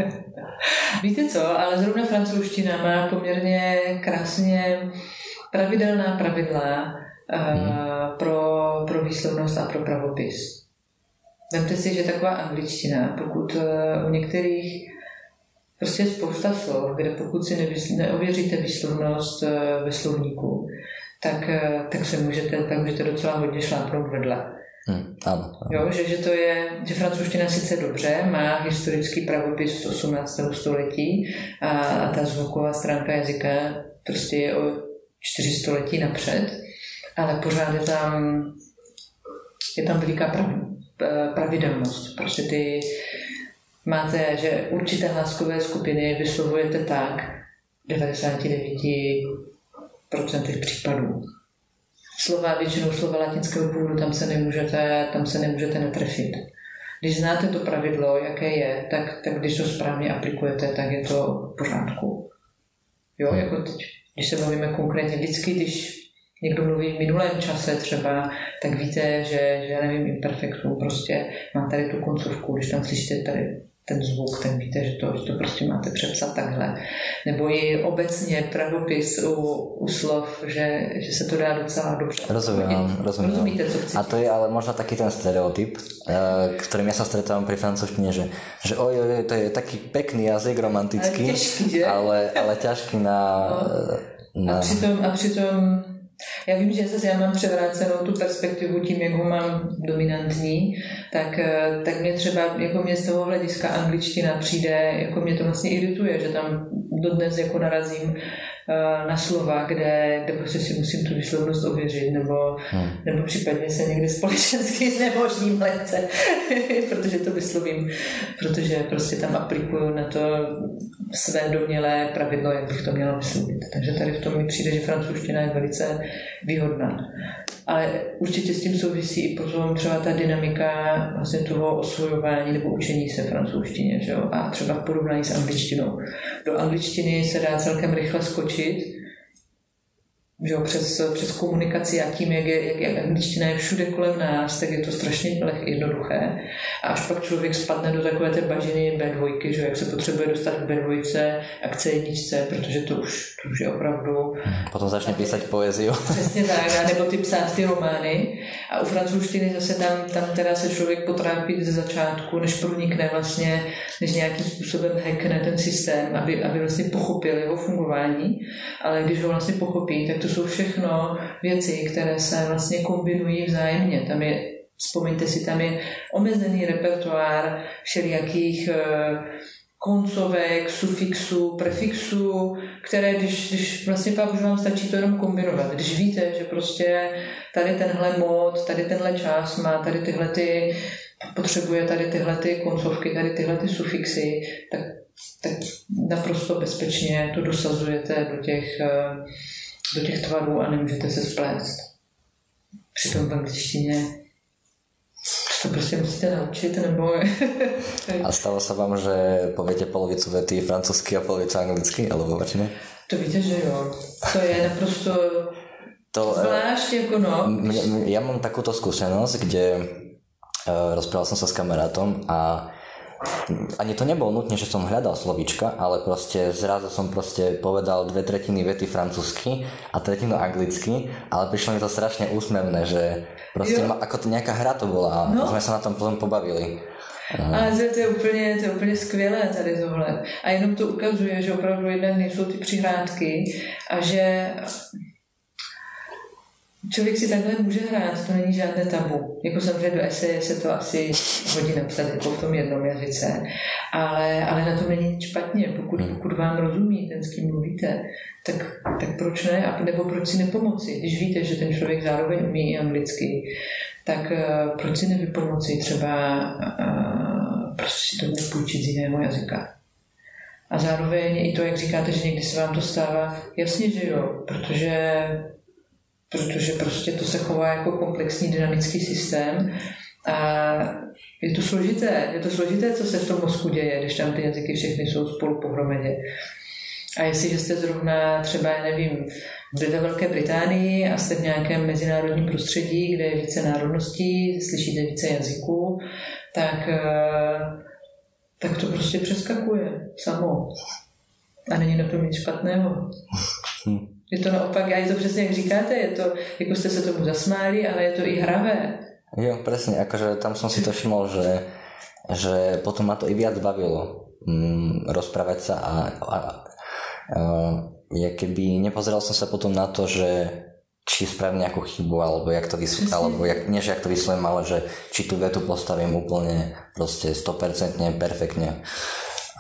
Víte co, ale zrovna francouzština má poměrně krásně pravidelná pravidla hmm. uh, pro, pro výslovnost a pro pravopis. Vemte si, že taková angličtina, pokud uh, u některých prostě je spousta slov, kde pokud si nevysl- neověříte výslovnost uh, ve slovníku, tak, uh, tak se můžete, tak můžete docela hodně šlápnout vedle. Hmm, áno, áno. Jo, že, že to je, že francouzština sice dobře, má historický pravopis z osmnáctého století a, a ta zvuková stránka jazyka prostě je o čtyři století napřed, ale pořád je tam, je tam veliká prav, pravidelnost. Prostě ty máte, že určité hláskové skupiny vyslovujete tak v devadesát devět procent případů. Slova, většinou slova latinského původu, tam se nemůžete, tam se nemůžete netrefit. Když znáte to pravidlo, jaké je, tak, tak když to správně aplikujete, tak je to v pořádku. Jo, jako teď, když se bavíme konkrétně, vždycky, když někdo mluví v minulém čase třeba, tak víte, že, že já nevím, imperfektum, prostě mám tady tu koncovku, když tam slyšíte tady ten zvuk, tak víte, že to, že to prostě máte přepsat takhle. Nebo i obecně pravopis u, u slov, že, že se to dá docela dobře. Rozumím, rozumím. Rozumíte, co chcete. A to je ale možno taký ten stereotyp, ktorým ja sa stretávam pri francúzštine, že, že oj, oj, to je taký pekný jazyk, romantický, ale, těžký, že? ale, ale ťažký na... No. na... A přitom, a přitom já vím, že zase já mám převrácenou tu perspektivu tím, jak ho mám dominantní, tak, tak mě třeba, jako mě z toho hlediska angličtina přijde, jako mě to vlastně irituje, že tam dodnes jako narazím na slova, kde, kde prostě si musím tu výslovnost ověřit, nebo, hmm. nebo případně se někde společensky znemožním lehce, protože to vyslovím, protože prostě tam aplikuju na to své domnělé pravidlo, jak bych to měla vyslovit. Takže tady v tom mi přijde, že francouzština je velice výhodná. Ale určitě s tím souvisí i potom třeba ta dynamika vlastně toho osvojování nebo učení se francouzštině, že jo? A třeba v porovnání s angličtinou. Do angličtiny se dá celkem rychle skočit, že jo? Přes, přes komunikaci a tím, jak, je, jak, jak angličtina je všude kolem nás, tak je to strašně jednoduché. A až pak člověk spadne do takové té bažiny bé dva, že jo? Jak se potřebuje dostat k bé dva a k cé jedna, protože to už, to už je opravdu... Potom začne písať poéziu. Přesně tak, nebo ty psát ty romány. A u francouzštiny zase tam, tam teda se člověk potrápí ze začátku, než pronikne vlastně, než nějakým způsobem hackne ten systém, aby, aby vlastně pochopil jeho fungování. Ale když ho vlastně pochopí, tak to jsou všechno věci, které se vlastně kombinují vzájemně. Tam je, vzpomeňte si, tam je omezený repertoár všelijakých koncovek, sufixů, prefixů, které, když, když vlastně pak už vám stačí to jenom kombinovat. Když víte, že prostě tady tenhle mod, tady tenhle čas má tady tyhle ty, potřebuje tady tyhle ty koncovky, tady tyhle ty sufixy, tak, tak naprosto bezpečně to dosazujete do těch, do těch tvarů a nemůžete se splést. Přitom v angličtině to prostě musíte naučit, nebo... A stalo sa vám, že poviete polovicu vety francúzsky a polovicu anglicky, alebo opačne? To víte, že jo. To je naprosto to, zvlášť, ako no. Mne, ja mám takúto skúsenosť, kde uh, rozprával som sa s kamarátom a ani to nebolo nutne, že som hľadal slovíčka, ale proste zrazu som proste povedal dve tretiny vety francúzsky a tretinu anglicky, ale prišlo mi to strašne úsmevné, že proste ma, ako to nejaká hra to bola a no. Sme sa na tom potom pobavili. A to je, úplně, to je úplně skvělé tady tohle. A jenom to ukazuje, že opravdu jednak nejsou ty přihrádky a že člověk si takhle může hrát, to není žádné tabu. Jako samozřejmě do eseje se to asi hodí napsat jako v tom jednom jazyce, ale, ale na tom není nic špatně. Pokud, pokud vám rozumí ten, s kým mluvíte, tak, tak proč ne? A nebo proč si nepomoci? Když víte, že ten člověk zároveň umí i anglicky, tak uh, proč si nevypomoci třeba uh, prostě si to nepůjčit z jiného jazyka? A zároveň i to, jak říkáte, že někdy se vám to stává, jasně, že jo, protože protože prostě to se chová jako komplexní dynamický systém a je to složité, je to složité, co se v tom mozku děje, když tam ty jazyky všechny jsou spolu pohromadě. A jestliže jste zrovna třeba, já nevím, ve Velké Británii a jste v nějakém mezinárodním prostředí, kde je více národností, slyšíte více jazyků, tak, tak to prostě přeskakuje samo. A není na tom nic špatného. Je to naopak, a je to přesně, jak říkáte, je to, jako jste se tomu zasmáli, ale je to i hravé. Jo, presne, akože tam som si to všimol, že, že potom ma to i viac bavilo mm, rozprávať sa a, a, a ja keby nepozeral som sa potom na to, že či spravím nejakú chybu, alebo jak to vyslovím, alebo jak, nie, že jak to vyslovím, ale že či tú vetu postavím úplne proste sto percent perfektne.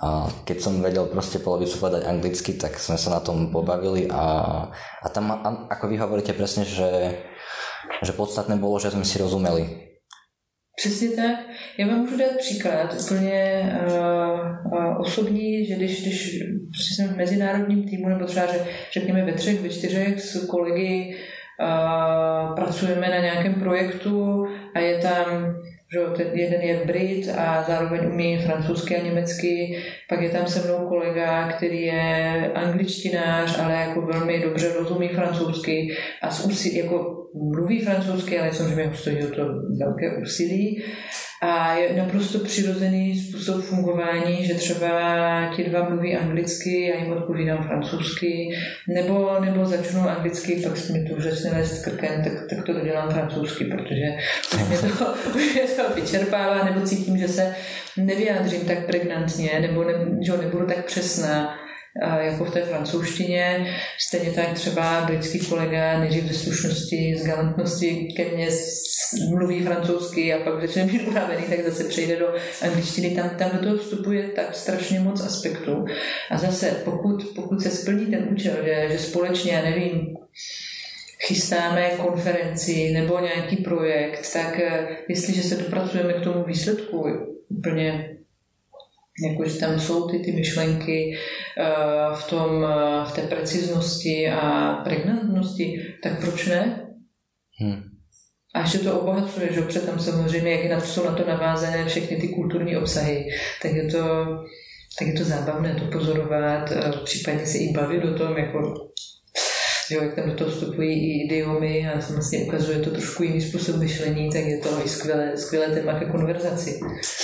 A keď som vedel proste polovicu povedať anglicky, tak sme sa na tom pobavili a, a tam, ako vy hovoríte presne, že, že podstatné bolo, že sme si rozumeli. Přesně tak. Já vám můžu dát příklad úplně uh, uh, osobní, že když, když prostě jsem v mezinárodním týmu, nebo třeba řekněme ve třech, ve čtyřech s kolegy uh, pracujeme na nějakém projektu a je tam, že ten jeden je Brit a zároveň umí francouzsky a německy, pak je tam se mnou kolega, který je angličtinář, ale jako velmi dobře rozumí francouzsky a s úsilí, jako mluví francouzsky, ale samozřejmě ho stojí o to velké úsilí. A je naprosto přirozený způsob fungování, že třeba ti dva mluví anglicky, já jim odpovídám francouzsky, nebo, nebo začnu anglicky, pak se mi to už začne lézt krkem, tak, tak to dělám francouzsky, protože mě to, mě to vyčerpává, nebo cítím, že se nevyjádřím tak pregnantně, nebo ne, že nebudu tak přesná jako v té francouzštině. Stejně tak třeba britský kolega nejdřív ze slušnosti, z galantnosti ke mně mluví francouzsky a pak začne být unavený, tak zase přejde do angličtiny. Tam, tam do toho vstupuje tak strašně moc aspektů. A zase pokud, pokud se splní ten účel, že, že společně, já nevím, chystáme konferenci nebo nějaký projekt, tak jestliže se dopracujeme k tomu výsledku úplně jakože tam jsou ty, ty myšlenky uh, v, tom, uh, v té preciznosti a pregnantnosti, tak proč ne? Hmm. A ještě to obohacuje, že protože tam samozřejmě, jak na to jsou na to navázané všechny ty kulturní obsahy, tak je to, tak je to zábavné to pozorovat, uh, případně se i bavit o tom, jako že jak tam do toho vstupují i idiomy a vlastně ukazuje to trošku jiný způsob myšlení, tak je to i skvělé, skvělé téma ke konverzaci.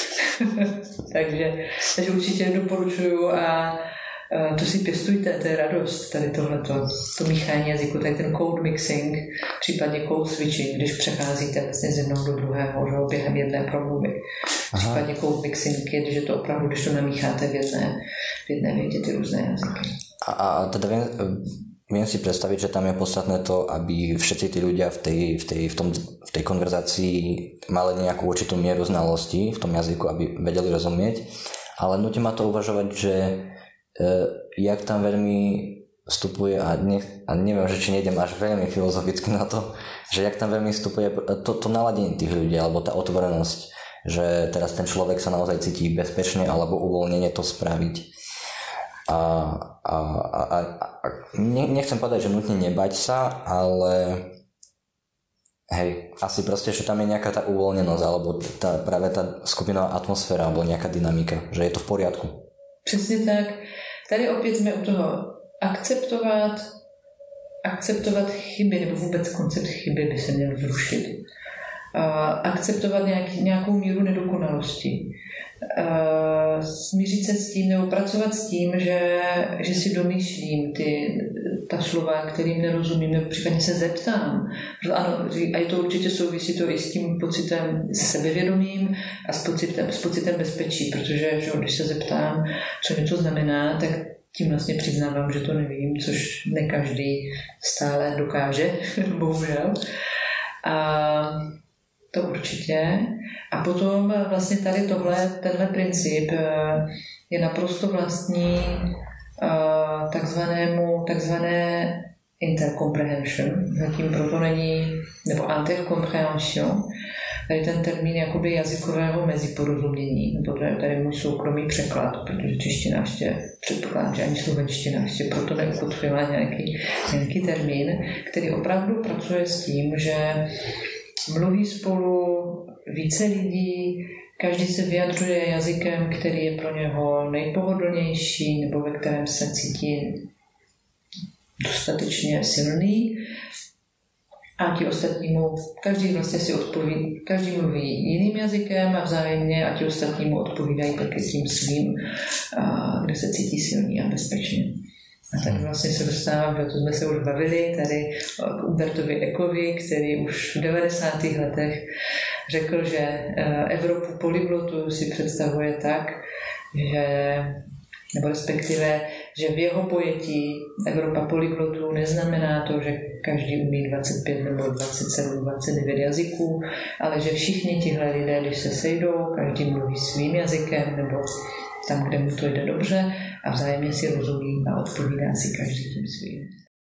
takže, takže určitě doporučuju a, a to si pěstujte, to je radost, tady tohleto, to míchání jazyku, tady ten code mixing, případně code switching, když přecházíte vlastně z jednoho do druhého, že, během jedné promluvy. Aha. Případně code mixing je, když je to opravdu, když to namícháte v jedné, v jedné větě ty různé jazyky. A, a teda viem, viem si predstaviť, že tam je podstatné to, aby všetci tí ľudia v tej, v tej, v tom, v tej konverzácii mali nejakú určitú mieru znalosti v tom jazyku, aby vedeli rozumieť. Ale nutí ma to uvažovať, že e, jak tam veľmi vstupuje, a, nech, a neviem, že či nejdem až veľmi filozoficky na to, že jak tam veľmi vstupuje to, to naladenie tých ľudí, alebo tá otvorenosť, že teraz ten človek sa naozaj cíti bezpečne alebo uvoľnenie to spraviť. A, a, a, a, a nechcem povedať, že nutne nebať sa, ale hej, asi proste, že tam je nejaká tá uvoľnenosť alebo tá, práve tá skupinová atmosféra alebo nejaká dynamika, že je to v poriadku. Přesně tak. Tady opět jsme u toho akceptovat, akceptovat chyby, nebo vůbec koncept chyby by se měl zrušit. Uh, akceptovat nějaký, nějakou míru nedokonalosti. Uh, smířit se s tím nebo pracovat s tím, že, že si domýšlím ty, ta slova, kterým nerozumím, nebo případně se zeptám. Ano, a je to určitě souvisí to i s tím pocitem sebevědomím a s pocitem, s pocitem bezpečí, protože že, když se zeptám, co něco znamená, tak tím vlastně přiznávám, že to nevím, což ne každý stále dokáže, bohužel. A to určitě. A potom vlastně tady tohle, tenhle princip je naprosto vlastní takzvanému, takzvané intercomprehension. Zatím proto není, nebo intercomprehension, tady ten termín jakoby jazykového meziporozumění, nebo to je tady můj soukromý překlad, protože čeština ještě předpokládám, že ani slovenština ještě proto neukotvila nějaký, nějaký termín, který opravdu pracuje s tím, že mluví spolu více lidí, každý se vyjadřuje jazykem, který je pro něho nejpohodlnější nebo ve kterém se cítí dostatečně silný. A ti ostatní mu, každý vlastně si odpoví, každý mluví jiným jazykem a vzájemně a ti ostatní mu odpovídají taky tím svým, kde se cítí silný a bezpečně. A tak vlastně se dostávám, že to jsme se už bavili tady k Umbertovi Ecovi, který už v devadesátých letech řekl, že Evropu polyglotu si představuje tak, že, nebo respektive, že v jeho pojetí Evropa polyglotů neznamená to, že každý umí dvacet pět nebo dvacet sedm, dvacet devět jazyků, ale že všichni tihle lidé, když se sejdou, každý mluví svým jazykem nebo tam, kde mu to jde dobře a vzájemně si rozumí a odpovídá si každý tím svým.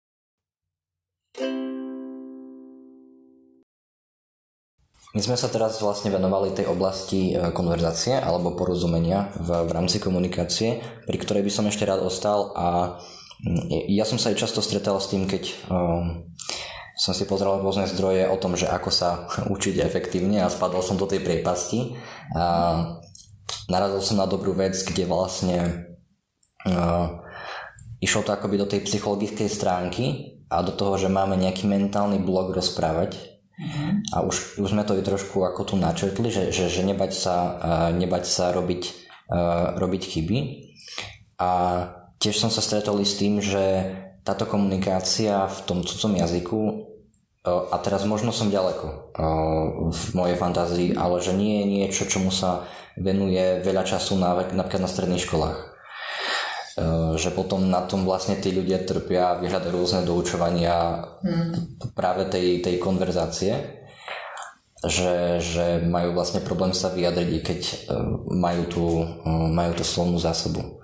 My sme sa teraz vlastne venovali tej oblasti konverzácie alebo porozumenia v, v rámci komunikácie, pri ktorej by som ešte rád ostal a ja som sa aj často stretal s tým, keď um, som si pozrel rôzne zdroje o tom, že ako sa učiť efektívne a spadol som do tej priepasti a narazil som na dobrú vec, kde vlastne uh, išlo to akoby do tej psychologickej stránky a do toho, že máme nejaký mentálny blok rozprávať. Mm-hmm. A už, už sme to i trošku ako tu načrtli, že, že, že nebať sa, uh, nebať sa robiť, uh, robiť chyby. A tiež som sa stretol s tým, že táto komunikácia v tom cudzom jazyku, uh, a teraz možno som ďaleko uh, v mojej fantázii, ale že nie je niečo, čomu sa venuje veľa času na, napríklad na stredných školách. Uh, že potom na tom vlastne tí ľudia trpia, vyhľadajú rôzne doučovania mm. práve tej, tej konverzácie, že, že majú vlastne problém sa vyjadriť, i keď uh, majú, tú, uh, majú tú slovnú zásobu.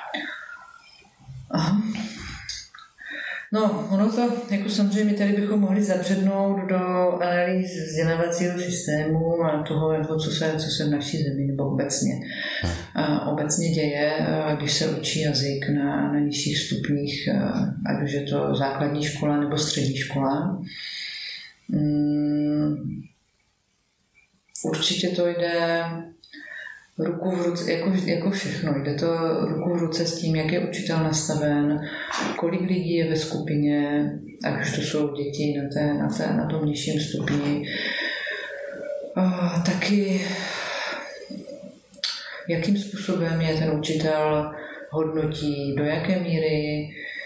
Aha. No, ono to, jako samozřejmě tady bychom mohli zabřednout do analýz vzdělávacího systému a toho, jako co, se, co se v naší zemi nebo obecně, a obecně děje, když se učí jazyk na, na nižších stupních, ať už je to základní škola nebo střední škola. Hmm. Určitě to jde ruku v ruce, jako, jako všechno. Jde to ruku v ruce s tím, jak je učitel nastaven, kolik lidí je ve skupině, ať už to jsou děti na, té, na, té, na tom nižším stupni. A taky jakým způsobem je ten učitel hodnotí, do jaké míry.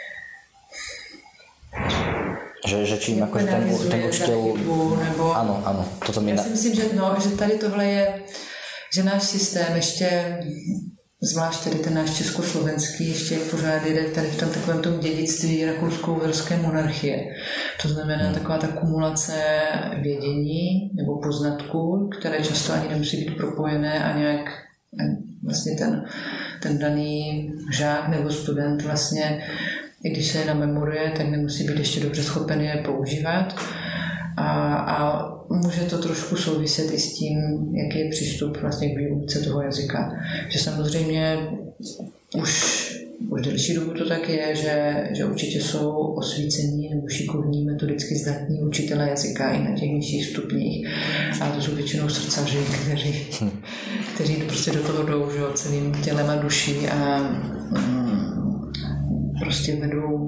Že, že čím jako ten, ten učitel... Nebo... Ano, ano. Toto mi Já na... si myslím, že, no, že tady tohle je, že náš systém ještě, zvlášť tady ten náš československý, ještě pořád jde tady v tom takovém tom dědictví rakousko-uherské monarchie. To znamená hmm. taková ta kumulace vědění nebo poznatků, které často ani nemusí být propojené a nějak vlastně ten, ten daný žák nebo student vlastně, i když se je namemoruje, tak nemusí být ještě dobře schopen je používat. A, a může to trošku souviset i s tím, jaký je přístup vlastně k výuce toho jazyka. Že samozřejmě už, už delší dobu to tak je, že, že určitě jsou osvícení nebo šikovní, metodicky zdatní učitelé jazyka i na těch nižších stupních. A to jsou většinou srdcaři, kteří, kteří prostě do toho jdou, že, celým tělem a duší a mm, prostě vedou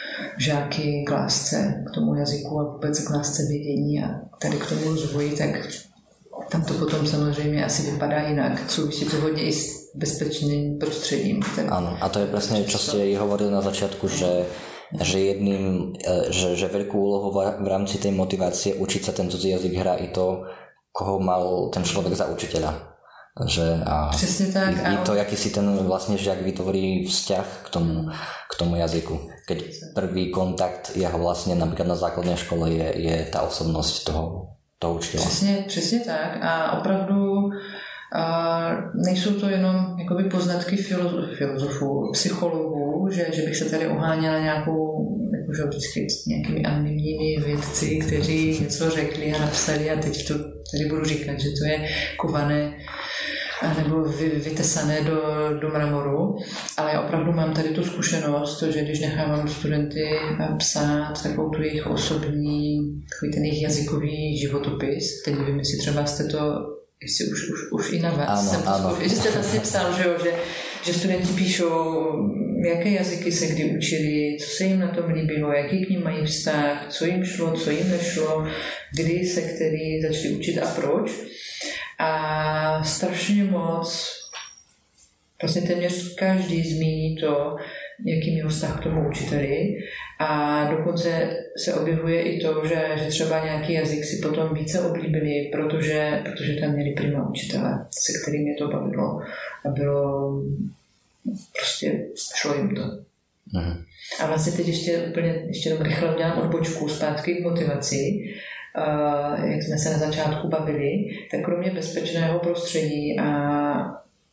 žáky k lásce, k tomu jazyku a vůbec k lásce vědění a tady k tomu rozvoji, tak tam to potom samozřejmě asi vypadá jinak. Souvisí to hodně i s bezpečným prostředím. Áno, a to je presne, čo ste hovorili na začiatku, že, že jedným, že, že veľkú úlohu v rámci tej motivácie učiť sa ten cudzí jazyk hrá i to, koho mal ten človek za učiteľa. Že a Přesně tak. I, i to, jaký si ten vlastne žiak vytvorí vzťah k tomu, k tomu jazyku. Keď prvý kontakt jeho vlastne napríklad na základnej škole je, je tá osobnosť toho, toho učiteľa. Přesně, přesně tak a opravdu a nejsou to jenom jakoby poznatky filozof, filozofů, psychologů, že, že bych se tady oháněla nějakou jakože vždycky nějakými anonymními vědci, kteří něco řekli a napsali a teď to tady budu říkat, že to je kované nebo vy, vytesané do, do mramoru, ale já opravdu mám tady tu zkušenost, že když nechávám studenty psát takovou tu jejich osobní, takový ten jejich jazykový životopis, teď nevím, jestli třeba jste to, jestli už, už, už i na vás ano, jsem to ano. zkoušel, že jste vlastně psal, že, jo, že, že studenti píšou, jaké jazyky se kdy učili, co se jim na tom líbilo, jaký k ním mají vztah, co jim šlo, co jim nešlo, kdy se který začali učit a proč. A strašně moc, vlastně téměř každý zmíní to, jaký měl vztah k tomu učiteli a dokonce se objevuje i to, že, že třeba nějaký jazyk si potom více oblíbili, protože, protože tam měli prima učitele, se kterým je to bavilo a bylo prostě, šlo jim to. Mhm. A vlastně teď ještě úplně, ještě jenom rychle udělám odbočku zpátky k motivaci. Uh, jak jsme se na začátku bavili, tak kromě bezpečného prostředí a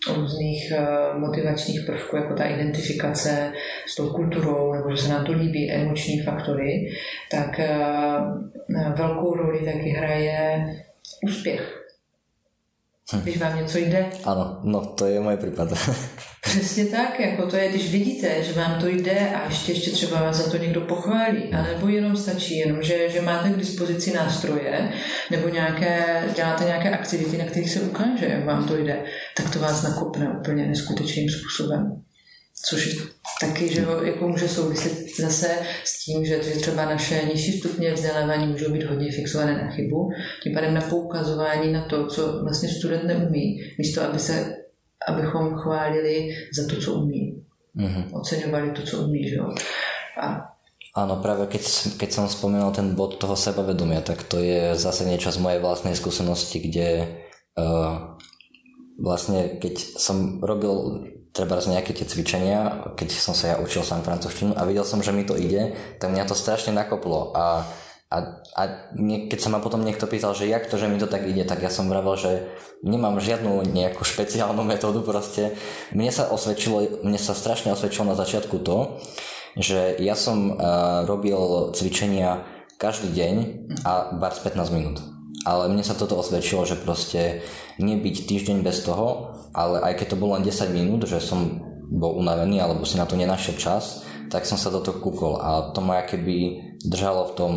různých motivačních prvků, jako ta identifikace s tou kulturou, nebo že se nám to líbí, emoční faktory, tak velkou roli taky hraje úspěch. Hm. Když vám něco jde. Ano, no to je můj případ. Přesně tak, jako to je, když vidíte, že vám to jde a ještě, ještě třeba vás za to někdo pochválí, anebo jenom stačí, jenom že, že máte k dispozici nástroje, nebo nějaké, děláte nějaké aktivity, na kterých se ukáže, jak vám to jde, tak to vás nakopne úplně neskutečným způsobem. Což taky, že jako může souviset zase s tím, že třeba naše nižší stupně vzdělávání můžou být hodně fixované na chybu, tím pádem na poukazování na to, co vlastně student neumí, místo aby se, abychom chválili za to, co umí. Mm-hmm. Oceňovali to, co umí. Že jo? A áno, práve keď, keď som spomínal ten bod toho sebavedomia, tak to je zase niečo z mojej vlastnej skúsenosti, kde uh, vlastne keď som robil treba z nejaké tie cvičenia, keď som sa ja učil sám francúzštinu a videl som, že mi to ide, tak mňa to strašne nakoplo a, a, a nie, keď sa ma potom niekto pýtal, že jak to, že mi to tak ide, tak ja som vravel, že nemám žiadnu nejakú špeciálnu metódu proste. Mne sa osvedčilo, mne sa strašne osvedčilo na začiatku to, že ja som uh, robil cvičenia každý deň a bar pätnásť minút. Ale mne sa toto osvedčilo, že proste nebyť týždeň bez toho, ale aj keď to bolo len desať minút, že som bol unavený alebo si na to nenašiel čas, tak som sa do toho kúkol a to ma keby držalo v tom,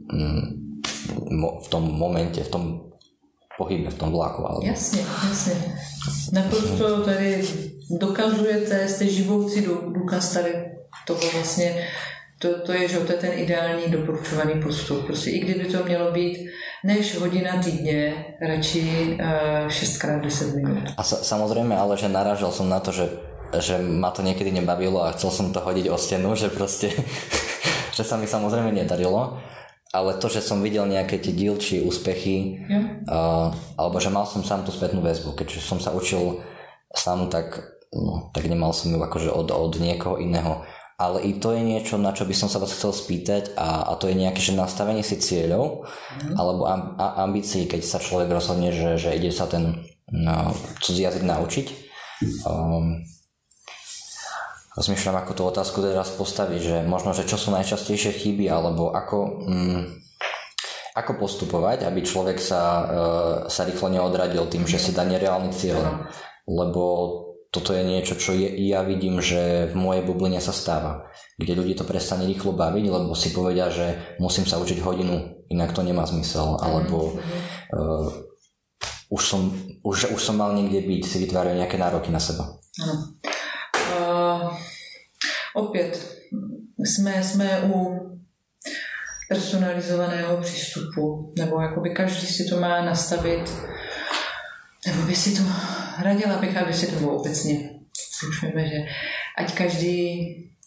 v tom momente, v tom pohybe, v tom vlaku. Alebo... Jasně, jasně. Naprosto tady dokazujete, jste živoucí důkaz tady toho vlastně. To, to je, že to je ten ideální doporučovaný postup. Prostě i kdyby to mělo být než hodina týdně, radši uh, šestkrát deset minút. A sa, samozrejme, ale že narážal som na to, že, že ma to niekedy nebavilo a chcel som to hodiť o stenu, že proste, že sa mi samozrejme nedarilo. Ale to, že som videl nejaké tie dílčie úspechy, uh, alebo že mal som sám tú spätnú väzbu. Keďže som sa učil sám, tak, no, tak nemal som ju akože od, od niekoho iného. Ale i to je niečo, na čo by som sa vás chcel spýtať a, a to je nejaké že nastavenie si cieľov mm. alebo amb, ambícií, keď sa človek rozhodne, že, že ide sa ten no, cudzí jazyk naučiť. Um, rozmýšľam, ako tú otázku teraz postaviť, že možno, že čo sú najčastejšie chyby alebo ako, um, ako postupovať, aby človek sa, uh, sa rýchlo neodradil tým, že si dá nereálny cieľ. Lebo toto je niečo, čo je, ja vidím, že v mojej bubline sa stáva, kde ľudí to prestane rýchlo baviť, lebo si povedia, že musím sa učiť hodinu, inak to nemá zmysel, alebo uh, už, som, už, už som mal niekde byť, si vytvárajú nejaké nároky na seba. Ano. Uh, opět, jsme, jsme u personalizovaného přístupu, nebo jakoby každý si to má nastavit, nebo by si to radila bych, aby si to bylo obecně. Slušujeme, že ať každý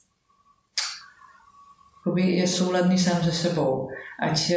je souladný sám se sebou. Ať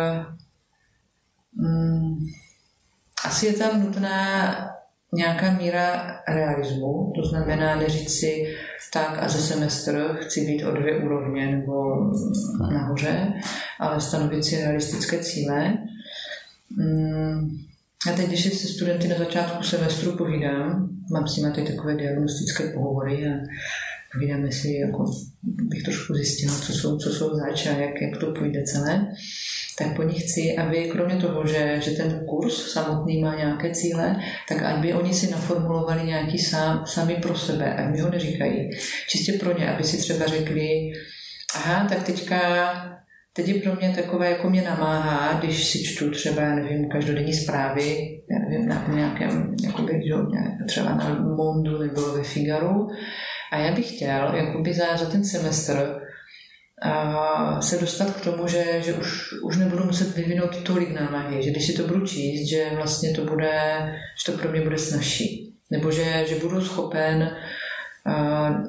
um, asi je tam nutná nějaká míra realismu, to znamená neříct si tak a ze semestr chci být o dvě úrovně nebo nahoře, ale stanovit si realistické cíle. Um, A teď, když se studenty na začátku semestru povídám, mám s nimi tady takové diagnostické pohovory a povídáme si, jako bych trošku zjistila, co jsou, co jsou zač a jak, jak to půjde celé, tak po nich chci, aby kromě toho, že, že ten kurz samotný má nějaké cíle, tak aby oni si naformulovali nějaký sám, sami pro sebe, ať mi ho neříkají. Čistě pro ně, aby si třeba řekli, aha, tak teďka Teď je pro mě takové, jako mě namáhá, když si čtu třeba, já nevím, každodenní zprávy, já nevím, na nějakém, jakoby, třeba na Mondu nebo ve Figaru. A já bych chtěl, jakoby za, za ten semestr a se dostat k tomu, že, že už, už nebudu muset vyvinout tolik námahy, že když si to budu číst, že vlastně to bude, že to pro mě bude snazší. Nebo že, že budu schopen a,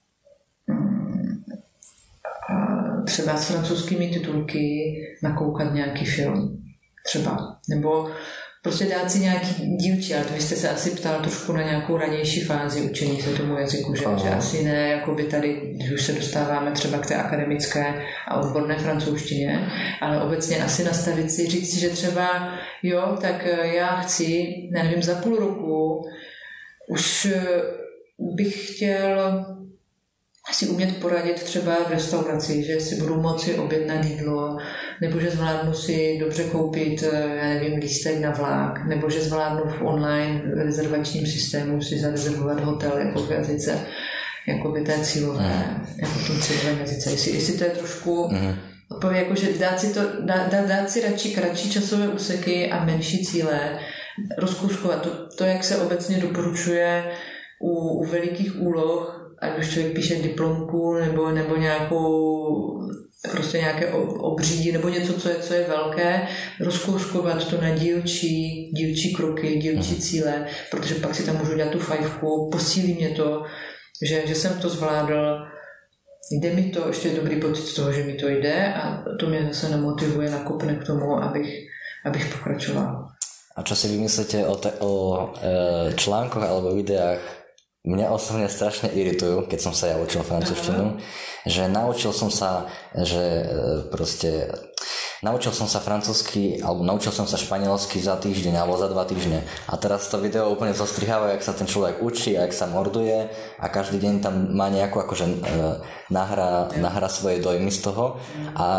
třeba s francouzskými titulky nakoukat nějaký film. Třeba. Nebo prostě dát si nějaký dílčí, ale to vy jste se asi ptal trošku na nějakou ranější fázi učení se tomu jazyku, že, že asi ne, jakoby tady, když už se dostáváme třeba k té akademické a odborné francouzštině, ale obecně asi nastavit si, říct si, že třeba jo, tak já chci, nevím, za půl roku už bych chtěl asi umět poradit třeba v restauraci, že si budu moci objednat jídlo, nebo že zvládnu si dobře koupit, já nevím, lístek na vlak, nebo že zvládnu v online rezervačním systému si zarezervovat hotel jako v jazyce, jako by té cílové, jako v tom cílovém jazyce. Jestli, jestli to je trošku mm. odpověď, jako že dát si, to, dát, dát si radši kratší časové úseky a menší cíle, rozkouskovat. To, to, jak se obecně doporučuje u, u velikých úloh, ať už člověk píše diplomku nebo, nebo nějakou prostě nějaké obřídí nebo něco, co je, co je velké, rozkouskovat to na dílčí, dílčí kroky, dílčí cíle, protože pak si tam můžu dělat tu fajfku, posílí mě to, že, že jsem to zvládl, jde mi to, ještě dobrý pocit z toho, že mi to jde a to mě zase namotivuje, nakopne k tomu, abych, abych pokračoval. A čo si vymyslíte o, te, o e, článkoch alebo videách? Mňa osobne strašne iritujú, keď som sa ja učil francúzštinu, že naučil som sa, že proste naučil som sa francúzsky, alebo naučil som sa španielsky za týždeň alebo za dva týždne. A teraz to video úplne zostriháva, jak sa ten človek učí a jak sa morduje a každý deň tam má nejakú akože e, nahrá, nahrá svoje dojmy z toho a,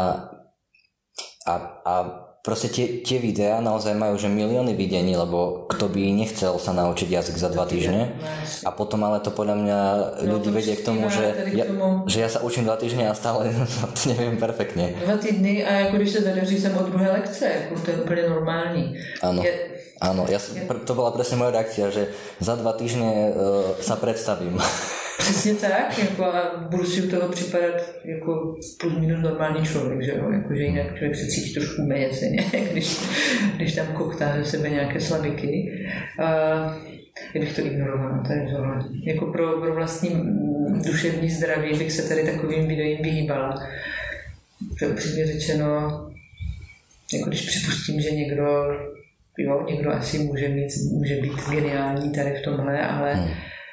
a, a proste tie, tie videá naozaj majú že milióny videní, lebo kto by nechcel sa naučiť jazyk za dva týždne a potom ale to podľa mňa ľudí vedie k tomu, že ja, že ja sa učím dva týždne a stále to neviem perfektne. Dva týdny a jako když se zadaří jsem od druhé lekce, jako to je úplně normální. Áno, je, áno ja, to bola presne moja reakcia, že za dva týždne uh, sa predstavím. Přesně tak, jako a budu si u toho připadat jako plus minus normální člověk, že jo, jakože jinak člověk se cítí trošku méně ceně, když, když tam koktá ze sebe nějaké slabiky. Uh, já bych to ignorovala, to je tohle. Jako pro, pro vlastní duševní zdraví bych se tady takovým videím vyhýbala. To je upřímně řečeno, jako když připustím, že někdo, jo, někdo asi může, mít, může být geniální tady v tomhle, ale hmm.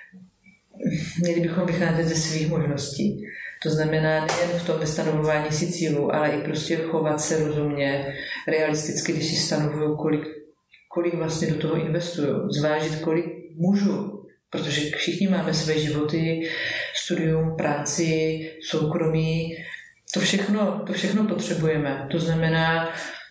měli bychom vycházet ze svých možností. To znamená nejen v tom vystanovování si cílů, ale i prostě chovat se rozumně, realisticky, když si stanovuju, kolik, kolik vlastně do toho investuju. Zvážit, kolik můžu, protože všichni máme své životy, studium, práci, soukromí, to všechno, to všechno potřebujeme. To znamená,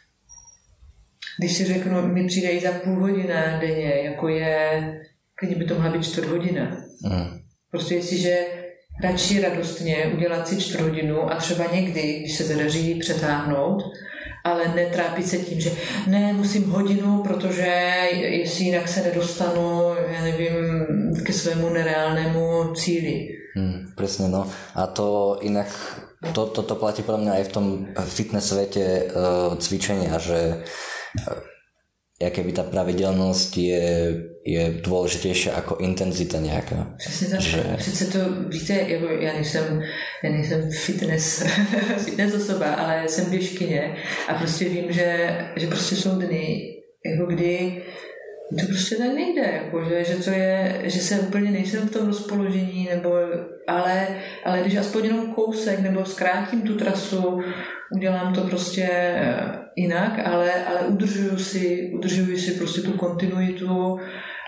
když si řeknu, mi přijde i za půl hodina denně, jako je, klidně by to mohla být čtvrt hodina. Mm. Prostě jestliže radši radostně udělat si čtvrt hodinu a třeba někdy, když se zadaří přetáhnout, ale netrápit se tím, že ne, musím hodinu, protože jestli jinak se nedostanu, já nevím, ke svému nereálnému cíli. Hmm, presne, no. A to inak, to, to, to platí podľa mňa aj v tom fitness svete uh, cvičenia, že uh, jaké by ta pravidelnost je, je důležitější jako intenzita nějaká. Přesně tak. Že... Přece to, víte, jako já nejsem, já nejsem fitness, fitness osoba, ale jsem běžkyně a prostě vím, že, že prostě jsou dny, jako kdy to prostě tak nejde, jako, že, že to je, že se úplně nejsem v tom rozpoložení, nebo, ale, ale když aspoň jenom kousek, nebo zkrátím tu trasu, udělám to prostě jinak, ale, ale udržuju si, udržuju si prostě tu kontinuitu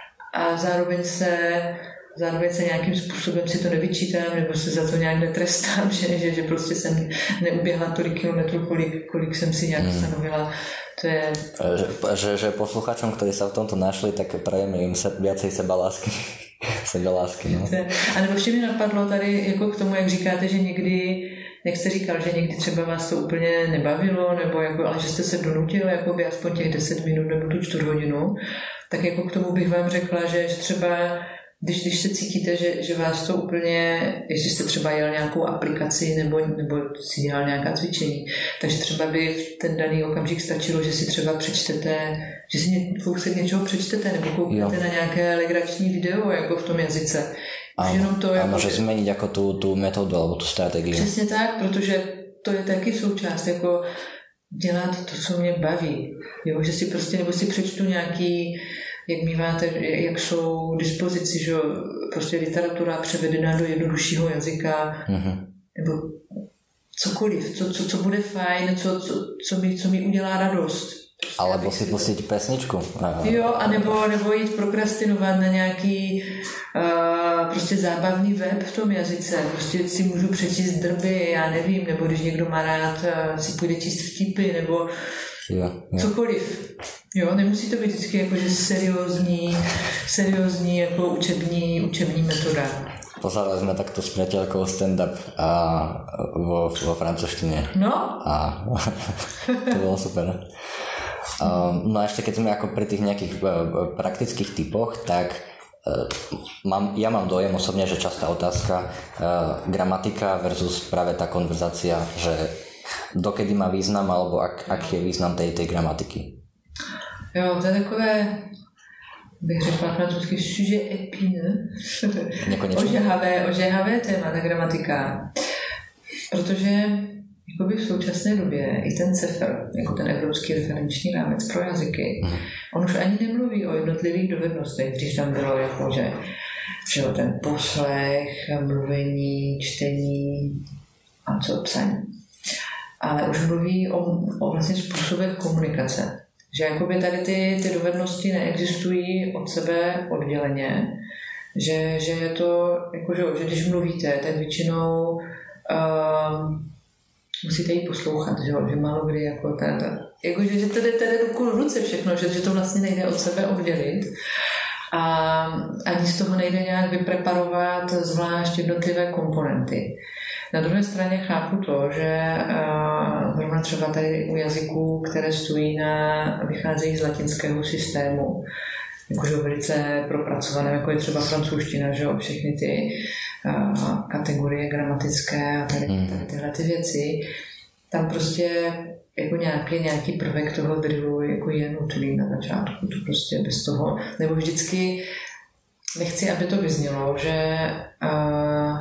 a zároveň se, zároveň se nějakým způsobem si to nevyčítám, nebo se za to nějak netrestám, že, že, že prostě jsem neuběhla tolik kilometrů, kolik, kolik jsem si nějak stanovila. To je... Že, že, že posluchačom, ktorí sa v tomto našli, tak prajeme im se, viacej sebalásky. sebalásky, no. A nebo vše mi napadlo tady jako k tomu, jak říkáte, že někdy, jak jste říkal, že někdy třeba vás to úplně nebavilo, nebo jako, ale že jste se donutil jakoby aspoň těch deset minut nebo tu čtvrt hodinu, tak jako k tomu bych vám řekla, že, že třeba Když, když se cítíte, že, že vás to úplně, jestli jste třeba jel nějakou aplikaci nebo, nebo si dělal nějaká cvičení, takže třeba by v ten daný okamžik stačilo, že si třeba přečtete, že si ně, kousek něčeho přečtete nebo kouknete na nějaké legrační video jako v tom jazyce. A, to, a jako, může změnit jako tu, tu metodu nebo tu strategii. Přesně tak, protože to je taky součást, jako dělat to, co mě baví. Jo, že si prostě, nebo si přečtu nějaký, jak míváte, jak jsou k dispozici, že prostě literatura převedená do jednoduššího jazyka, mm-hmm. nebo cokoliv, co, co, co bude fajn, co, co, co, mi, co mi udělá radost. Alebo si pustit pesničku. Jo, anebo, nebo jít prokrastinovat na nějaký uh, prostě zábavný web v tom jazyce. Prostě si můžu přečíst drby, já nevím, nebo když někdo má rád, uh, si půjde číst vtipy, nebo jo, jo. cokoliv. Jo, nemusí to být vždycky jakože seriózní, seriózní jako učební, učební metoda. Pozerali sme takto s priateľkou stand-up a vo, vo francúzštine. No? A to bolo super. Um, no a ešte keď sme ako pri tých nejakých uh, praktických typoch, tak uh, mám, ja mám dojem osobne, že častá otázka uh, gramatika versus práve tá konverzácia, že dokedy má význam alebo ak, aký je význam tej, tej gramatiky. Jo, to je takové, bych řekla francouzsky, sujet épineux, ožehavé, ožehavé téma, ta gramatika. Protože jakoby v současné době i ten CEFR, jako ten Evropský referenční rámec pro jazyky, mm. on už ani nemluví o jednotlivých dovednostech, když tam bylo jako, že, že ten poslech, mluvení, čtení a co psaní. Ale už mluví o, o vlastně způsobech komunikace. Že jakoby tady ty, ty dovednosti neexistují od sebe odděleně, že, že je to, jako, že, že když mluvíte, tak většinou uh, musíte jí poslouchat, že, že málo kdy jako ta, ta, jako, že, že tady jde ruku v ruce všechno, že, že to vlastně nejde od sebe oddělit a ani z toho nejde nějak vypreparovat zvlášť jednotlivé komponenty. Na druhé straně chápu to, že uh, zrovna třeba tady u jazyků, které stojí na, vycházejí z latinského systému, jakože velice propracované, jako je třeba francouzština, že jo, všechny ty uh, kategorie gramatické a tady, tady tyhle ty věci, tam prostě jako nějaký, nějaký prvek toho drillu jako je nutný na začátku, to prostě bez toho, nebo vždycky nechci, aby to vyznělo, že uh,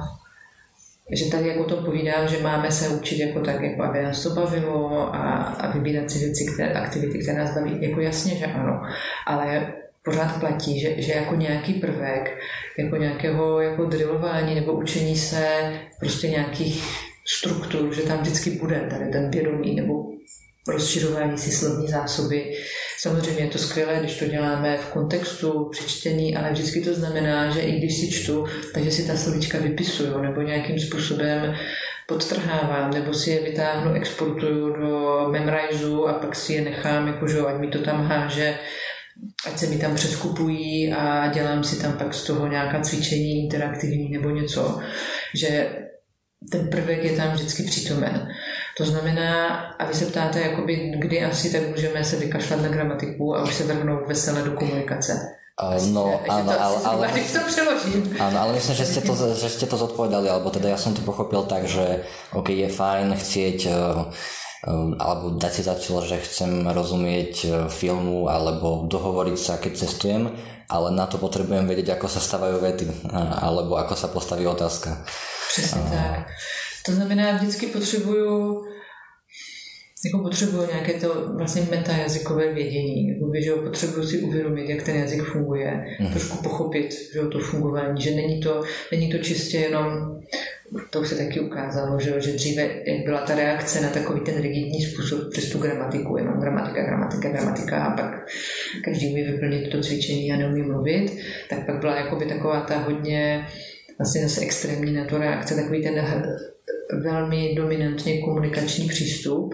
že tady jako to povídám, že máme se učit jako tak, jako aby nás to bavilo a, a vybírat si věci, které, aktivity, které nás baví, jako jasně, že ano, ale pořád platí, že, že jako nějaký prvek, jako nějakého jako drillování nebo učení se prostě nějakých struktur, že tam vždycky bude tady ten vědomí nebo rozšiřování si slovní zásoby. Samozřejmě je to skvělé, když to děláme v kontextu, při čtení, ale vždycky to znamená, že i když si čtu, takže si ta slovíčka vypisuju nebo nějakým způsobem podtrhávám, nebo si je vytáhnu, exportuju do memriseu a pak si je nechám, jakože ať mi to tam háže, ať se mi tam přeskupují a dělám si tam pak z toho nějaká cvičení interaktivní nebo něco, že ten prvek je tam vždycky přítomen. To znamená, a vy se ptáte, jakoby, kdy asi tak můžeme se vykašlat na gramatiku a už se vrhnout veselé do komunikace. Uh, no, áno, ale, ale, to přeložím. Áno, ale myslím, že ste, to, že ste to zodpovedali, alebo teda ja som to pochopil tak, že ok, je fajn chcieť uh, uh, alebo dať si za cieľ, že chcem rozumieť uh, filmu alebo dohovoriť sa, keď cestujem, ale na to potrebujem vedieť, ako sa stavajú vety uh, alebo ako sa postaví otázka. Přesně uh, tak. To znamená, vždycky potřebuju jako potřebuju nějaké to vlastně metajazykové vědění, jako že jo, potřebuju si uvědomit, jak ten jazyk funguje, mm. trošku pochopit, že jo, to fungování, že není to, není to čistě jenom, to už se taky ukázalo, že, jo, že dříve, jak byla ta reakce na takový ten rigidní způsob přes tu gramatiku, jenom gramatika, gramatika, gramatika a pak každý umí vyplnit to cvičení a neumí mluvit, tak pak byla jakoby taková ta hodně vlastně zase extrémní na to reakce, takový ten velmi dominantně komunikační přístup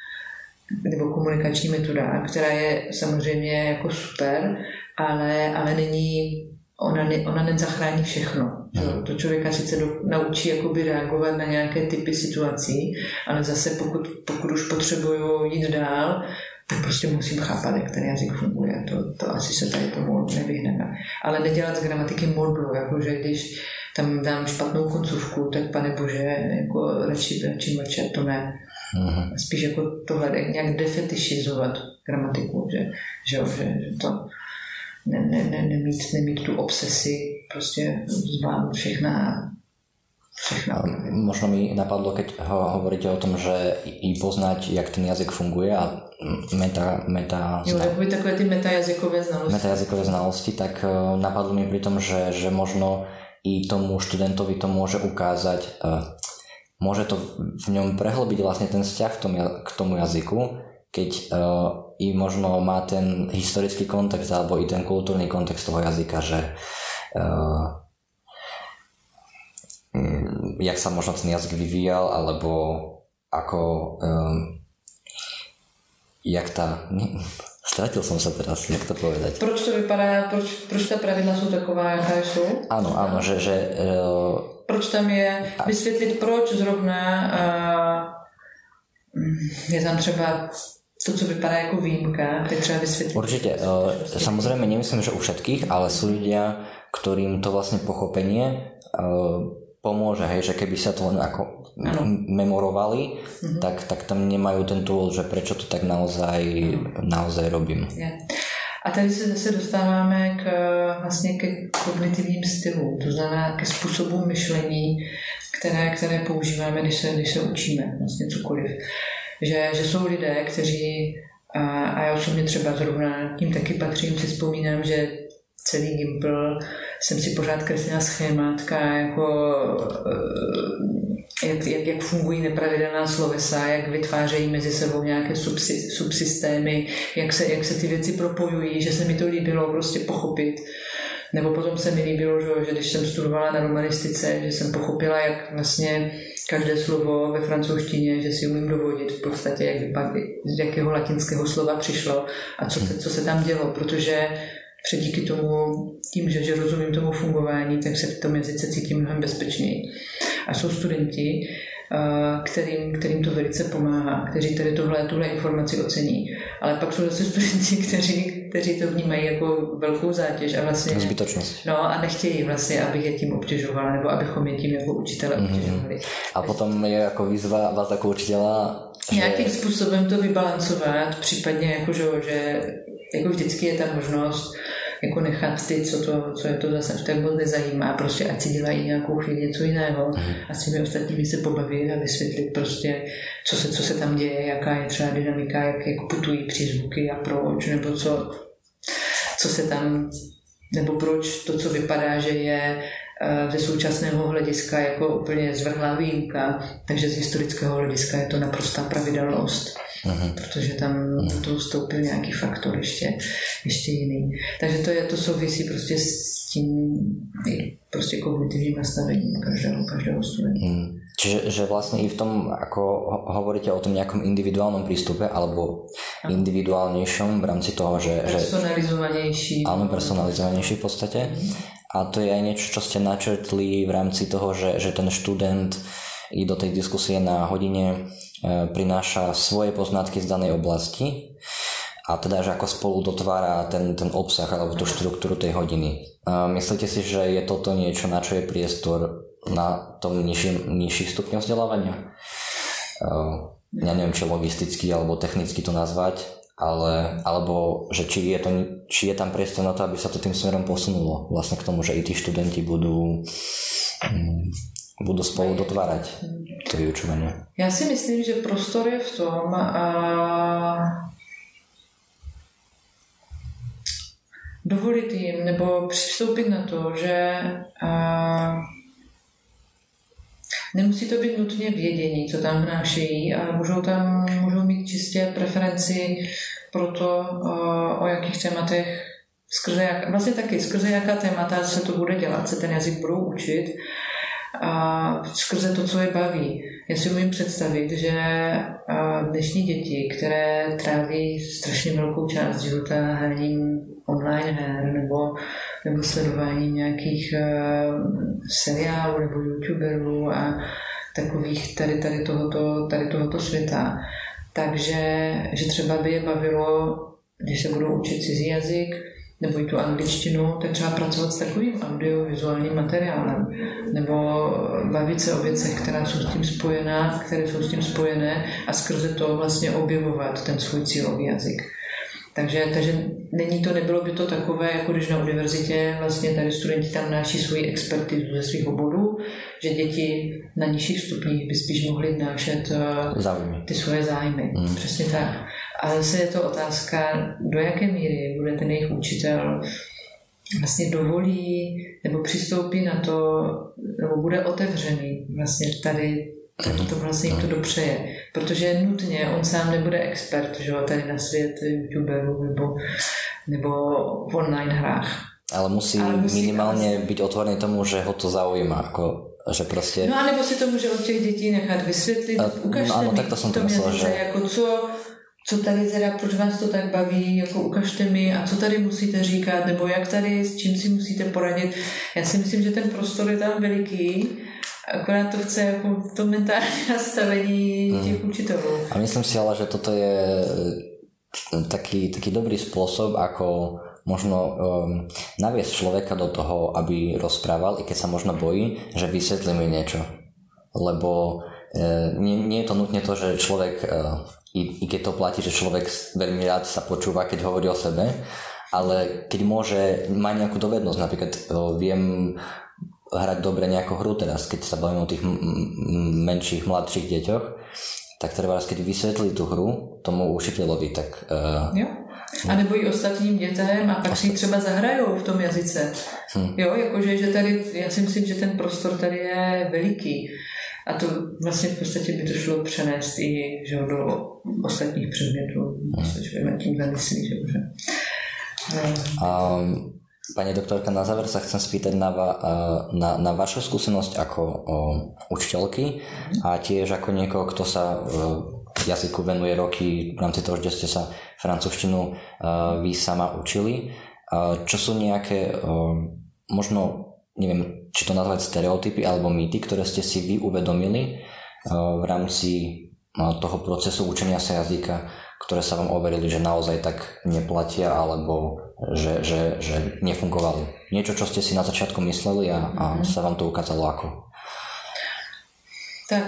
nebo komunikační metoda, která je samozřejmě jako super, ale, ale není, ona, ne, ona nezachrání všechno. To, to člověka sice do, naučí jakoby reagovat na nějaké typy situací, ale zase pokud, pokud už potřebuju jít dál, tak prostě musím chápat, jak ten jazyk funguje. To, to asi se tady tomu nevyhneme. Ale nedělat z gramatiky modlu, jakože když tam dám špatnou koncovku, tak pane bože, jako radši, radši mlčet, to ne. Mm-hmm. Spíš jako tohle nějak defetišizovat gramatiku, že, že, že, že to ne, ne, ne, nemít, nemít tu obsesi, prostě zvládnout všechna všechna. Možno mi napadlo, keď ho, hovoríte o tom, že i poznať, jak ten jazyk funguje a meta... meta jo, by takové ty metajazykové znalosti. Metajazykové znalosti, tak uh, napadlo mi pri tom, že, že možno i tomu študentovi to môže ukázať, uh, môže to v ňom prehlbiť vlastne ten vzťah v tom, k tomu jazyku, keď uh, i možno má ten historický kontext alebo i ten kultúrny kontext toho jazyka, že uh, jak sa možno ten jazyk vyvíjal, alebo ako um, jak tá... Stratil som sa teraz, jak to povedať. Proč to vypadá, proč, proč ta pravidla jsou taková, jaká jsou? Áno, áno, že... že uh, proč tam je, vysvětlit proč zrovna uh, je tam třeba to, co vypadá jako výjimka, tak třeba vysvětlit. Určite, uh, samozrejme nemyslím, že u všetkých, ale sú ľudia, ktorým to vlastne pochopenie uh, pomôže, hej, že keby sa to len ako m- memorovali, mm-hmm. tak, tak tam nemajú ten tool, že prečo to tak naozaj, naozaj robím. Yeah. A tady se zase dostáváme k, vlastně ke kognitivním stylům, to znamená ke způsobům myšlení, které, které používáme, když se, když se učíme vlastně cokoliv. Že, že jsou lidé, kteří, a, a já osobně třeba zrovna tím taky patřím, si vzpomínám, že celý Gimpl jsem si pořád kreslila schémátka, jako, jak, jak, jak fungují nepravidelná slovesa, jak vytvářejí mezi sebou nějaké subsy, subsystémy, jak se, jak se ty věci propojují, že se mi to líbilo prostě pochopit. Nebo potom se mi líbilo, že, že když jsem studovala na romanistice, že jsem pochopila, jak vlastně každé slovo ve francouzštině, že si umím dovodit v podstatě, jak vypadá, z jakého latinského slova přišlo a co se, co se tam dělo, protože před díky tomu, tím, že, že rozumím tomu fungování, tak se v tom jazyce cítím mnohem bezpečněji. A jsou studenti, kterým, kterým to velice pomáhá, kteří tady tohle, tuhle informaci ocení. Ale pak jsou zase studenti, kteří, kteří to vnímají jako velkou zátěž a vlastně zbytočnost. No a nechtějí vlastně, abych je tím obtěžovala, nebo abychom je tím jako učitele obtěžovali. Mm-hmm. A potom je jako výzva vás jako učitela že... nějakým způsobem to vybalancovat, případně jako, že, že jako vždycky je ta možnost jako nechat ty, co, to, co je to zase v té moc nezajímá, prostě ať si dělají nějakou chvíli něco jiného mm. a s těmi ostatními se pobavit a vysvětlit prostě, co se, co se tam děje, jaká je třeba dynamika, jak, jak putují přízvuky a proč, nebo co, co se tam, nebo proč to, co vypadá, že je ze současného hlediska jako úplně zvrhlá výjimka, takže z historického hlediska je to naprostá pravidelnost. Uhum. Protože tam do toho vstoupil nějaký faktor ještě, ještě jiný. Takže to, je, to souvisí prostě s tím prostě kognitivním nastavením každého, každého studenta. Hmm. Čiže že vlastne i v tom, ako hovoríte o tom nejakom individuálnom prístupe alebo individuálnejšom v rámci toho, že... Personalizovanejší. Že, áno, personalizovanejší v podstate. Hmm. A to je aj niečo, čo ste načrtli v rámci toho, že, že ten študent i do tej diskusie na hodine prináša svoje poznatky z danej oblasti a teda, že ako spolu dotvára ten, ten obsah alebo tú štruktúru tej hodiny. Myslíte si, že je toto niečo, na čo je priestor na tom nižším, nižších stupňoch vzdelávania? Ja neviem, či logisticky alebo technicky to nazvať, ale, alebo že či je, to, či je tam priestor na to, aby sa to tým smerom posunulo vlastne k tomu, že i tí študenti budú... Hmm, budou spolu dotvárat to vyučování. Já si myslím, že prostor je v tom a dovolit jim nebo přistoupit na to, že a nemusí to být nutně vědění, co tam vnášejí, ale můžou tam můžou mít čistě preferenci pro to, o jakých tématech skrze jak, vlastně taky skrze jaká témata se to bude dělat, se ten jazyk budou učit a skrze to, co je baví. Já si umím představit, že dnešní děti, které tráví strašně velkou část života hraním online her nebo, nebo sledováním nějakých seriálů nebo youtuberů a takových tady, tady, tohoto, tady tohoto světa, takže že třeba by je bavilo, když se budou učit cizí jazyk nebo i tu angličtinu, tak třeba pracovat s takovým audiovizuálním materiálem nebo bavit se o věcech, která jsou s tím spojená, které jsou s tím spojené a skrze to vlastně objevovat ten svůj cílový jazyk. Takže, takže není to, nebylo by to takové, jako když na univerzitě vlastně tady studenti tam náší svoji expertizu ze svých oborů, že děti na nižších stupních by spíš mohly vnášet zájmy. Ty svoje zájmy. Mm. Přesně tak. A zase je to otázka, do jaké míry bude ten jejich učitel vlastně dovolí nebo přistoupí na to, nebo bude otevřený vlastně tady tak to vlastně jim to dopřeje. Protože nutně on sám nebude expert, že jo, tady na svět youtuberů nebo, nebo v online hrách. Ale musí, Ale musí minimálně být otvorený tomu, že ho to zaujíma, jako, že prostě... No a nebo si to může od těch dětí nechat vysvětlit, a, ukažte no, ano, mi tak to, jsem to myslel, že... jako co, co tady teda, proč vás to tak baví, jako ukažte mi a co tady musíte říkat, nebo jak tady, s čím si musíte poradit. Já si myslím, že ten prostor je tam veliký, akorát to chce jako to mentální nastavení hmm. těch učitelů. A myslím si ale, že toto je taký, taký dobrý spôsob, ako možno um, naviesť človeka do toho, aby rozprával, i keď sa možno bojí, že vysvetlí mi niečo. Lebo uh, nie, nie je to nutne to, že človek, uh, i, i keď to platí, že človek veľmi rád sa počúva, keď hovorí o sebe, ale keď môže, má nejakú dovednosť, napríklad uh, viem hrať dobre nejakú hru teraz, keď sa bavím o tých m- m- menších, mladších deťoch, tak treba, keď vysvetlí tú hru tomu učiteľovi, tak... Uh, jo. A nebo i ostatním dětem a pak si třeba zahrajou v tom jazyce. Hmm. Jo, jakože, že tady, já si myslím, že ten prostor tady je veliký. A to vlastně v podstatě by to šlo přenést i že, do ostatních předmětů. Hmm. Tím zamyslí, že už. Um, Pani doktorka, na záver sa chcem spýtať na, va, na, na vašu skúsenosť ako o, učiteľky a tiež ako niekoho, kto sa v jazyku venuje roky v rámci toho, že ste sa francúzštinu vy sama učili. Čo sú nejaké, možno, neviem, či to nazvať stereotypy alebo mýty, ktoré ste si vy uvedomili v rámci toho procesu učenia sa jazyka, ktoré sa vám overili, že naozaj tak neplatia alebo že, že, že nefungovali. Niečo, čo ste si na začiatku mysleli a, a sa vám to ukázalo ako? Tak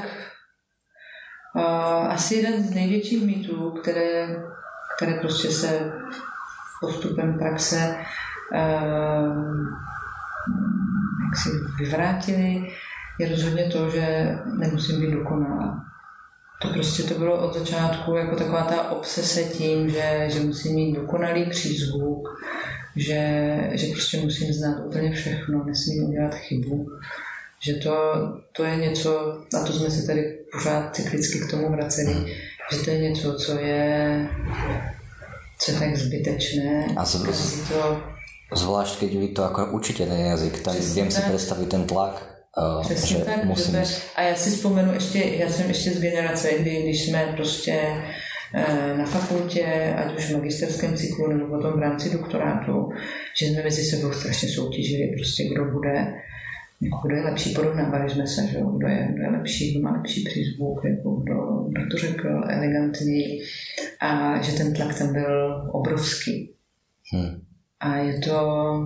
uh, asi jeden z největších mýtů, které, které prostě se postupem praxe uh, jak si vyvrátili, je rozhodně to, že nemusím být dokonalá. To prostě to bylo od začátku jako taková ta obsese tím, že, že musím mít dokonalý přízvuk, že, že prostě musím znát úplně všechno, nesmím udělat chybu. Že to, to je něco, a to jsme se tady pořád cyklicky k tomu vraceli, že to je něco, co je, co je tak zbytečné. A zvlášť, to... zvlášť keď vy to ako učíte ten jazyk, tam viem si predstaviť ten tlak. Uh, Přesně tak, musím... to je, a já si vzpomenu ještě, já jsem ještě z generace, kdy, když jsme prostě uh, na fakultě, ať už v magisterském cyklu nebo potom v rámci doktorátu, že jsme mezi sebou strašně soutěžili, prostě kdo bude, kdo je lepší, porovnávali jsme se, že kdo je, kdo je lepší, kdo má lepší přízvuk, jako kdo, kdo to řekl elegantní a že ten tlak tam byl obrovský. Hmm. A je to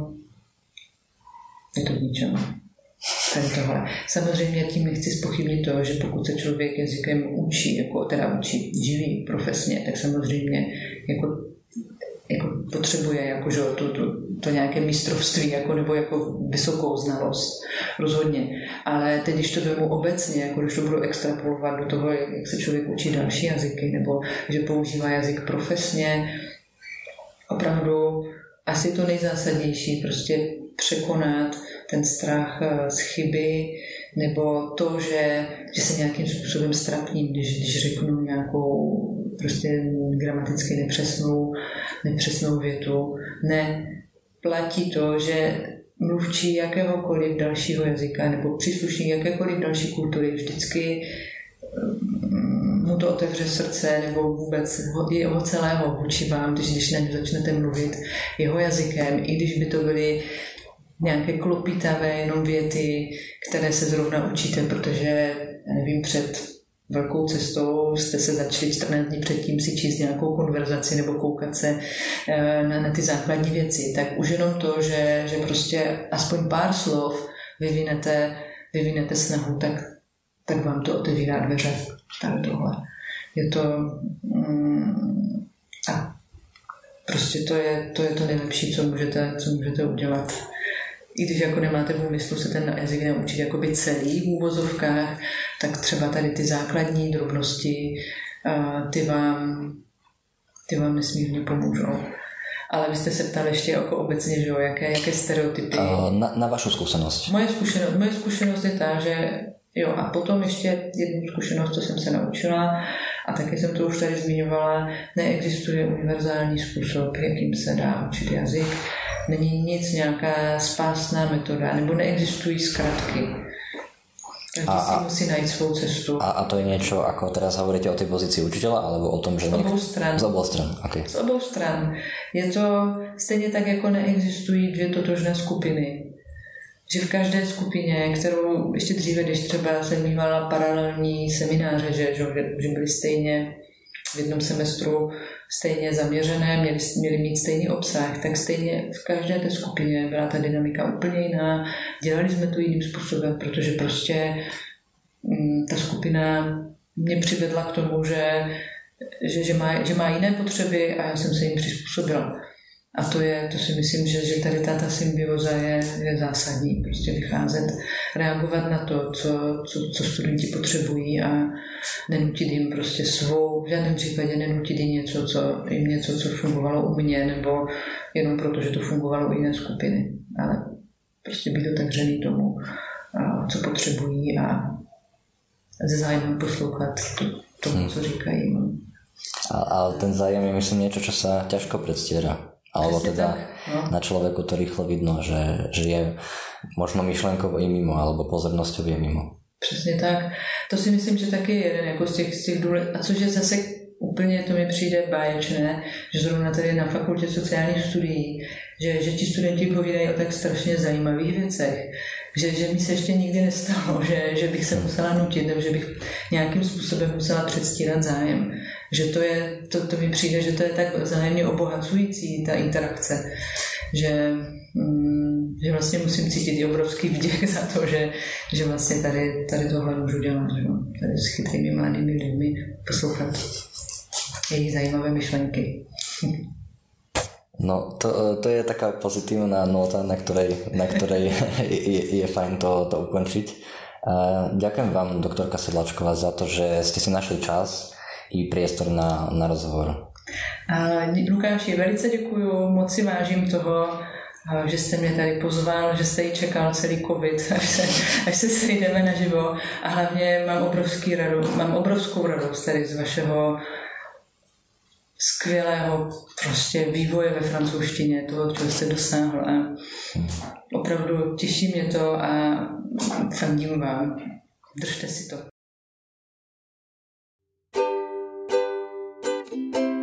je to k ničemu. Tohle. Samozřejmě tím nechci zpochybnit to, že pokud se člověk jazykem učí, jako teda učí, živí profesně, tak samozřejmě jako, jako potřebuje jako, že, to, to, to nějaké mistrovství jako, nebo jako vysokou znalost, rozhodně. Ale teď, když to vemu obecně, jako když to budu extrapolovat do toho, jak se člověk učí další jazyky, nebo že používá jazyk profesně, opravdu asi to nejzásadnější, prostě překonat ten strach z chyby, nebo to, že, že se nějakým způsobem strapním, když, když řeknu nějakou prostě gramaticky nepřesnou, nepřesnou větu. Ne, platí to, že mluvčí jakéhokoliv dalšího jazyka nebo příslušník jakékoliv další kultury vždycky mu to otevře srdce nebo vůbec jeho celého vůči vám, když, když na ně začnete mluvit jeho jazykem, i když by to byly nějaké klopitavé jenom věty, které se zrovna učíte, protože, já nevím, před velkou cestou jste se začali čtrnáct dní předtím si číst nějakou konverzaci nebo koukat se na, na ty základní věci, tak už jenom to, že, že prostě aspoň pár slov vyvinete, vyvinete snahu, tak, tak vám to otevírá dveře. Tady tohle. Je to mm, a prostě to je, to je to nejlepší, co můžete, co můžete udělat. I když jako nemáte v úmyslu se ten jazyk naučit jakoby celý v úvozovkách, tak třeba tady ty základní drobnosti, ty vám, ty vám nesmírně pomůžou. Ale vy jste se ptali ještě jako obecně, že jo, jaké, jaké stereotypy. Na, na vašu skúsenosť. Moje zkušenost, moje zkušenost je tá, že Jo, a potom ještě jednu zkušenost, co jsem se naučila, a taky jsem to už tady zmiňovala, neexistuje univerzální způsob, jakým se dá učit jazyk. Není nic, nějaká spásná metoda, nebo neexistují zkratky. Každý a, si musí najít svou cestu. A, a to je niečo, ako teraz hovoríte o tej pozícii učiteľa, alebo o tom, že... Z obou stran. Z obou stran, okay. Z obou stran. Je to stejně tak, jako neexistují dvě totožné skupiny. Že v každé skupině, kterou ještě dříve, když třeba jsem mývala paralelní semináře, že, že, že byly stejně v jednom semestru stejně zaměřené, měli, měli mít stejný obsah, tak stejně v každé té skupině byla ta dynamika úplně jiná. Dělali jsme to jiným způsobem, protože prostě m, ta skupina mě přivedla k tomu, že, že, že, má, že má jiné potřeby a já jsem se jim přizpůsobila. A to je, to si myslím, že, že tady ta, ta symbioza je, je zásadní. Prostě vycházet, reagovat na to, co, co, co studenti potřebují a nenutit jim prostě svou, v žádném případě nenutit jim něco, co, jim něco, co fungovalo u mě, nebo jenom proto, že to fungovalo u jiné skupiny. Ale prostě být otevřený tomu, a, co potřebují a se zájmem poslouchat to, tomu, co říkají. A, ale ten zájem je, myslím, niečo, čo sa ťažko predstiera. Alebo teda no. Na človeku to rýchlo vidno, že, že je možno myšlenkovo i mimo, alebo pozornosťou je mimo. Přesně tak. To si myslím, že taky je jeden jako z těch, z těch důle... A což je zase úplně, to mi přijde báječné, že zrovna tady na fakultě sociálních studií, že, že ti studenti povídají o tak strašně zajímavých věcech, že, že mi se ještě nikdy nestalo, že, že bych se musela nutit, nebo že bych nějakým způsobem musela předstírat zájem. Že to je, to, to mi přijde, že to je tak vzájemně obohacující, ta interakce, že, mm, že vlastně musím cítit i obrovský vděk za to, že, že vlastně tady, tady tohle můžu dělat, že? Tady s chytrými mladými lidmi poslouchat jejich zajímavé myšlenky. No, to, to je taká pozitívna nota, na ktorej, na ktorej je, je fajn to, to ukončiť. Ďakujem vám, doktorka Sedláčková, za to, že ste si našli čas i priestor na, na rozhovor. Lukáši, velice děkuju, moc si vážím toho, že jste mě tady pozval, že jste ji čekal celý covid, až se, až se sejdeme naživo. A hlavně mám, obrovský radost, mám obrovskou radost tady z vašeho skvělého prostě vývoje ve francouzštině, toho, čeho jste dosáhl. A opravdu těší mě to a fandím vám. Držte si to.